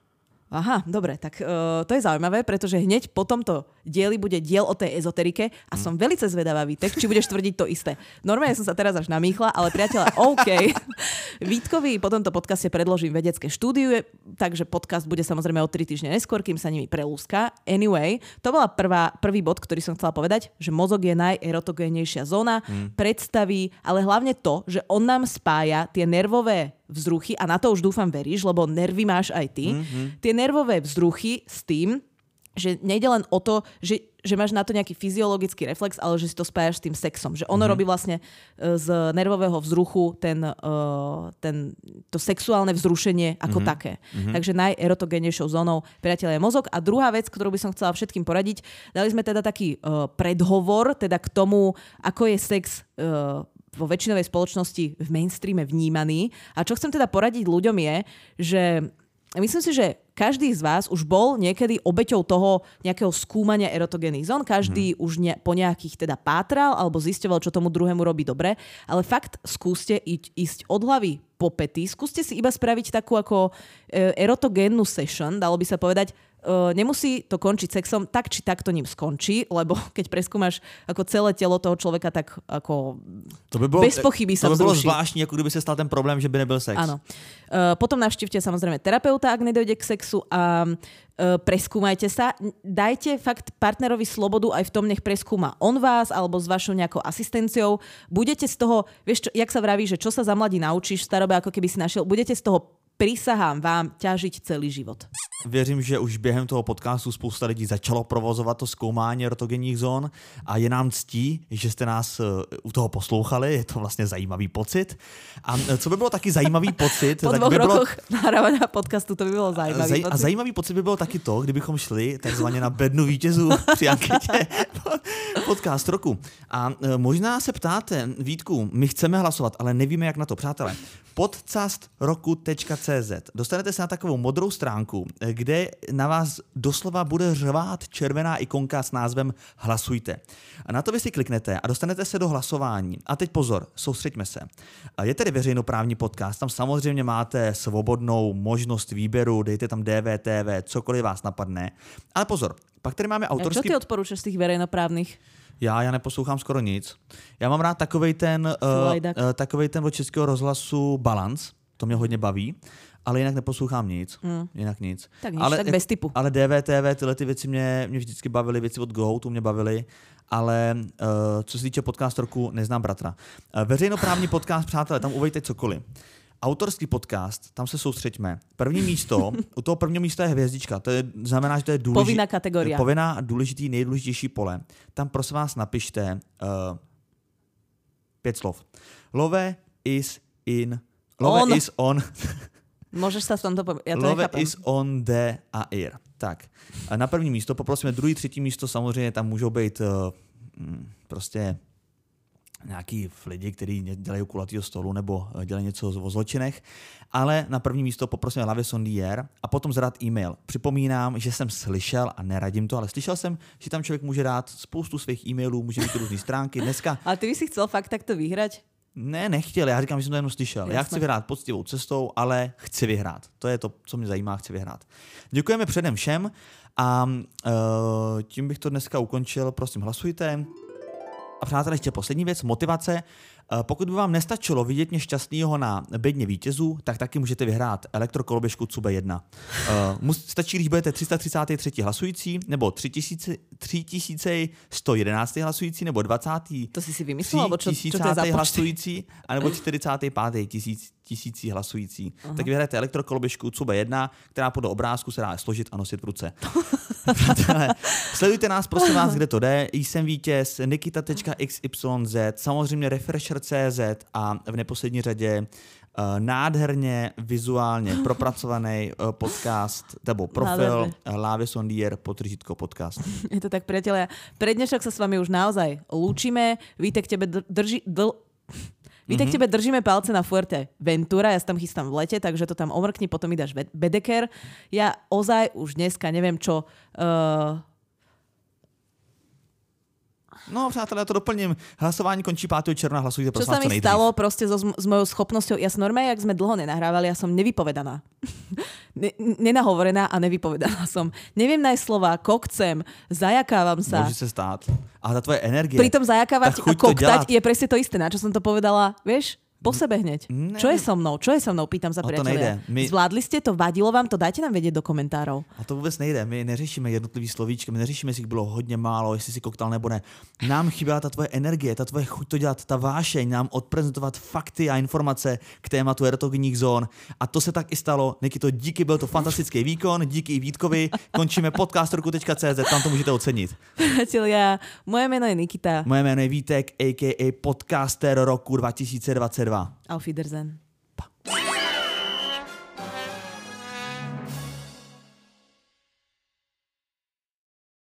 Aha, dobre, tak uh, to je zaujímavé, pretože hneď po tomto dieli bude diel o tej ezoterike a mm. som veľmi zvedavá, Vítek, či budeš tvrdiť to isté. Normálne som sa teraz až namýchla, ale priateľa, OK. Vítkovi po tomto podcaste predložím vedecké štúdiu, takže podcast bude samozrejme o tri týždne neskôr, kým sa nimi prelúska. Anyway, to bola prvá, prvý bod, ktorý som chcela povedať, že mozog je najerotogénejšia zóna, mm. predstaví, ale hlavne to, že on nám spája tie nervové vzruchy, a na to už dúfam veríš, lebo nervy máš aj ty, mm-hmm. tie nervové vzruchy s tým, že nejde len o to, že, že máš na to nejaký fyziologický reflex, ale že si to spájaš s tým sexom. Že ono mm-hmm. robí vlastne z nervového vzruchu ten, uh, ten, to sexuálne vzrušenie ako mm-hmm. také. Mm-hmm. Takže najerotogénejšou zónou, priateľ, je mozog. A druhá vec, ktorú by som chcela všetkým poradiť, dali sme teda taký uh, predhovor teda k tomu, ako je sex uh, vo väčšinovej spoločnosti v mainstreame vnímaný. A čo chcem teda poradiť ľuďom je, že myslím si, že každý z vás už bol niekedy obeťou toho nejakého skúmania erotogénnych zón. Každý hmm. už ne, po nejakých teda pátral alebo zisťoval, čo tomu druhému robí dobre. Ale fakt skúste íť, ísť od hlavy po pety. Skúste si iba spraviť takú ako e, erotogénnu session, dalo by sa povedať. Uh, nemusí to končiť sexom, tak či tak to ním skončí, lebo keď preskúmaš ako celé telo toho človeka, tak ako to by bolo, bez pochyby sa vzruší. To by bylo vzruší. zvláštní, ako kdyby sa stal ten problém, že by nebyl sex. Áno. Uh, potom navštívte samozrejme terapeuta, ak nedojde k sexu, a uh, preskúmajte sa. Dajte fakt partnerovi slobodu aj v tom, nech preskúma on vás alebo s vašou nejakou asistenciou. Budete z toho, vieš, čo, jak sa vraví, že čo sa za mladí naučíš v starobe, ako keby si našiel, budete z toho, prisahám vám, ťažiť celý život. Věřím, že už během toho podcastu spousta lidí začalo provozovat to zkoumání erotogenních zón a je nám ctí, že jste nás u toho poslouchali, je to vlastně zajímavý pocit. A co by bylo taky zajímavý pocit... Po tak dvoch by bylo... rokoch nahrávania podcastu to by bylo zajímavý Zaj... pocit. A zajímavý pocit by bylo taky to, kdybychom šli takzvaně na bednu vítězů při anketě podcast roku. A možná se ptáte, Vítku, my chceme hlasovat, ale nevíme, jak na to, přátelé. podcast roku tečka cé zet. Dostanete se na takovou modrou stránku, kde na vás doslova bude řvát červená ikonka s názvem Hlasujte. A na to vy si kliknete a dostanete se do hlasování. A teď pozor, soustřeďme se. Je tedy veřejnoprávní podcast, tam samozřejmě máte svobodnou možnost výběru, dejte tam D V T V, cokoliv vás napadne. Ale pozor, pak tady máme autorský... A čo ty odporúčaš z tých verejnoprávnych? Já, já neposlouchám skoro nic. Já mám rád takovej ten, uh, uh, takovej ten od Českého rozhlasu Balance, to mě hodně baví, ale jinak neposlouchám nic. Mm. Jinak nic. Tak nic, ale, tak bez typu. Ale D V T V, tyhle ty věci mě, mě vždycky bavily, věci od Go, tu mě bavily, ale uh, co se týče podcast roku, neznám bratra. Uh, veřejnoprávní podcast, přátelé, tam uvejte cokoliv. Autorský podcast, tam se soustřeďme. První místo, u toho prvního místa je hvězdička, to je, znamená, že to je důležitý, povinná kategoria. Povinná, důležitý, nejdůležitější pole. Tam prosím vás napište uh, pět slov. Love is in... Love on. is on... Môžeš sa v tomto... Po... Ja to Love nechápem. is on the air. Tak. A na první místo, poprosíme druhý, třetí místo, samozřejmě tam můžou být uh, prostě nějaký lidi, kteří dělají kulatýho stolu nebo dělají něco o zločinech, ale na první místo poprosím La Vie sans Dier a potom zadat e-mail. Připomínám, že jsem slyšel, a neradím to, ale slyšel jsem, že tam člověk může dát spoustu svých e-mailů, může mít různé stránky. Dneska... Ale ty by si chcel fakt takto vyhrať? Ne, nechtěl, já říkám, že jsem to jenom slyšel. Jasne. Já chci vyhrát poctivou cestou, ale chci vyhrát. To je to, co mě zajímá, chci vyhrát. Děkujeme předem všem a uh, tím bych to dneska ukončil. Prosím, hlasujte. A přátelé, ještě poslední věc, motivace. Pokud by vám nestačilo vidět mě šťastného na bedně vítězů, tak taky můžete vyhrát elektrokoloběžku C U B E jedna. Uh, stačí, když budete tři sta třicátý třetí hlasující, nebo tři tisíce sto jedenáctý hlasující, nebo dvacátý To si si vymyslel, nebo čo, čo to je za hlasující, anebo čtyřicátý pátý tisíc, tisící hlasující. Uh-huh. Tak vyhrajete elektrokoloběžku C U B E jedna, která podle obrázku se dá složit a nosit v ruce. Sledujte nás, prosím vás, kde to jde. Jsem vítěz, nikita tečka x y z, samozřejmě refresher tečka cé zet a v neposlední řadě uh, nádherně vizuálně propracovaný uh, podcast, nebo profil La Vie sans Dier podtržítko podcast. Je to tak, priatelia. Pre dnešok sa s vami už naozaj lúčime. Víte, k tebe drži... Dl... Víte, mm-hmm. k tebe držíme palce na Fuerte Ventura, ja sa tam chystám v lete, takže to tam omrkni, potom mi dáš Bedeker. Ja ozaj už dneska neviem čo... Uh... No, přátelé, já to doplním. Hlasování končí pátého června, hlasujte prosím vás co nejdřív. Čo sa mi stalo proste so, s mojou schopnosťou, ja som normálne, jak sme dlho nenahrávali, ja som nevypovedaná. ne, nenahovorená a nevypovedaná som. Neviem nájsť slova, kokcem, zajakávam sa. Môže sa stát. A tá tvoje energie. Pri tom zajakávať a koktať je presne to isté, na čo som to povedala, vieš? Po sebe hneď. Ne. Čo je so mnou? Čo je so mnou? Pýtam sa, priatelia. My... Zvládli ste to? Vadilo vám to? Dajte nám vedieť do komentárov. A to vůbec nejde. My neřešíme jednotlivý slovíčky, my neřešíme, jestli bylo hodně málo, jestli si koktal nebo ne. Nám chyběla ta tvoje energie, ta tvoje chuť to dělat, ta vášeň, nám odprezentovat fakty a informace k tématu erotogenních zón. A to se tak i stalo. Nikito, díky, byl to fantastický výkon, díky i Vítkovi. Končíme podcastorku tečka cé zet, tam to můžete ocenit. Priatelia, moje jméno je Nikita. Moje jméno je Vítek, a k a. podcaster roku dva tisíce dvacet dva. Auf Wiedersehen.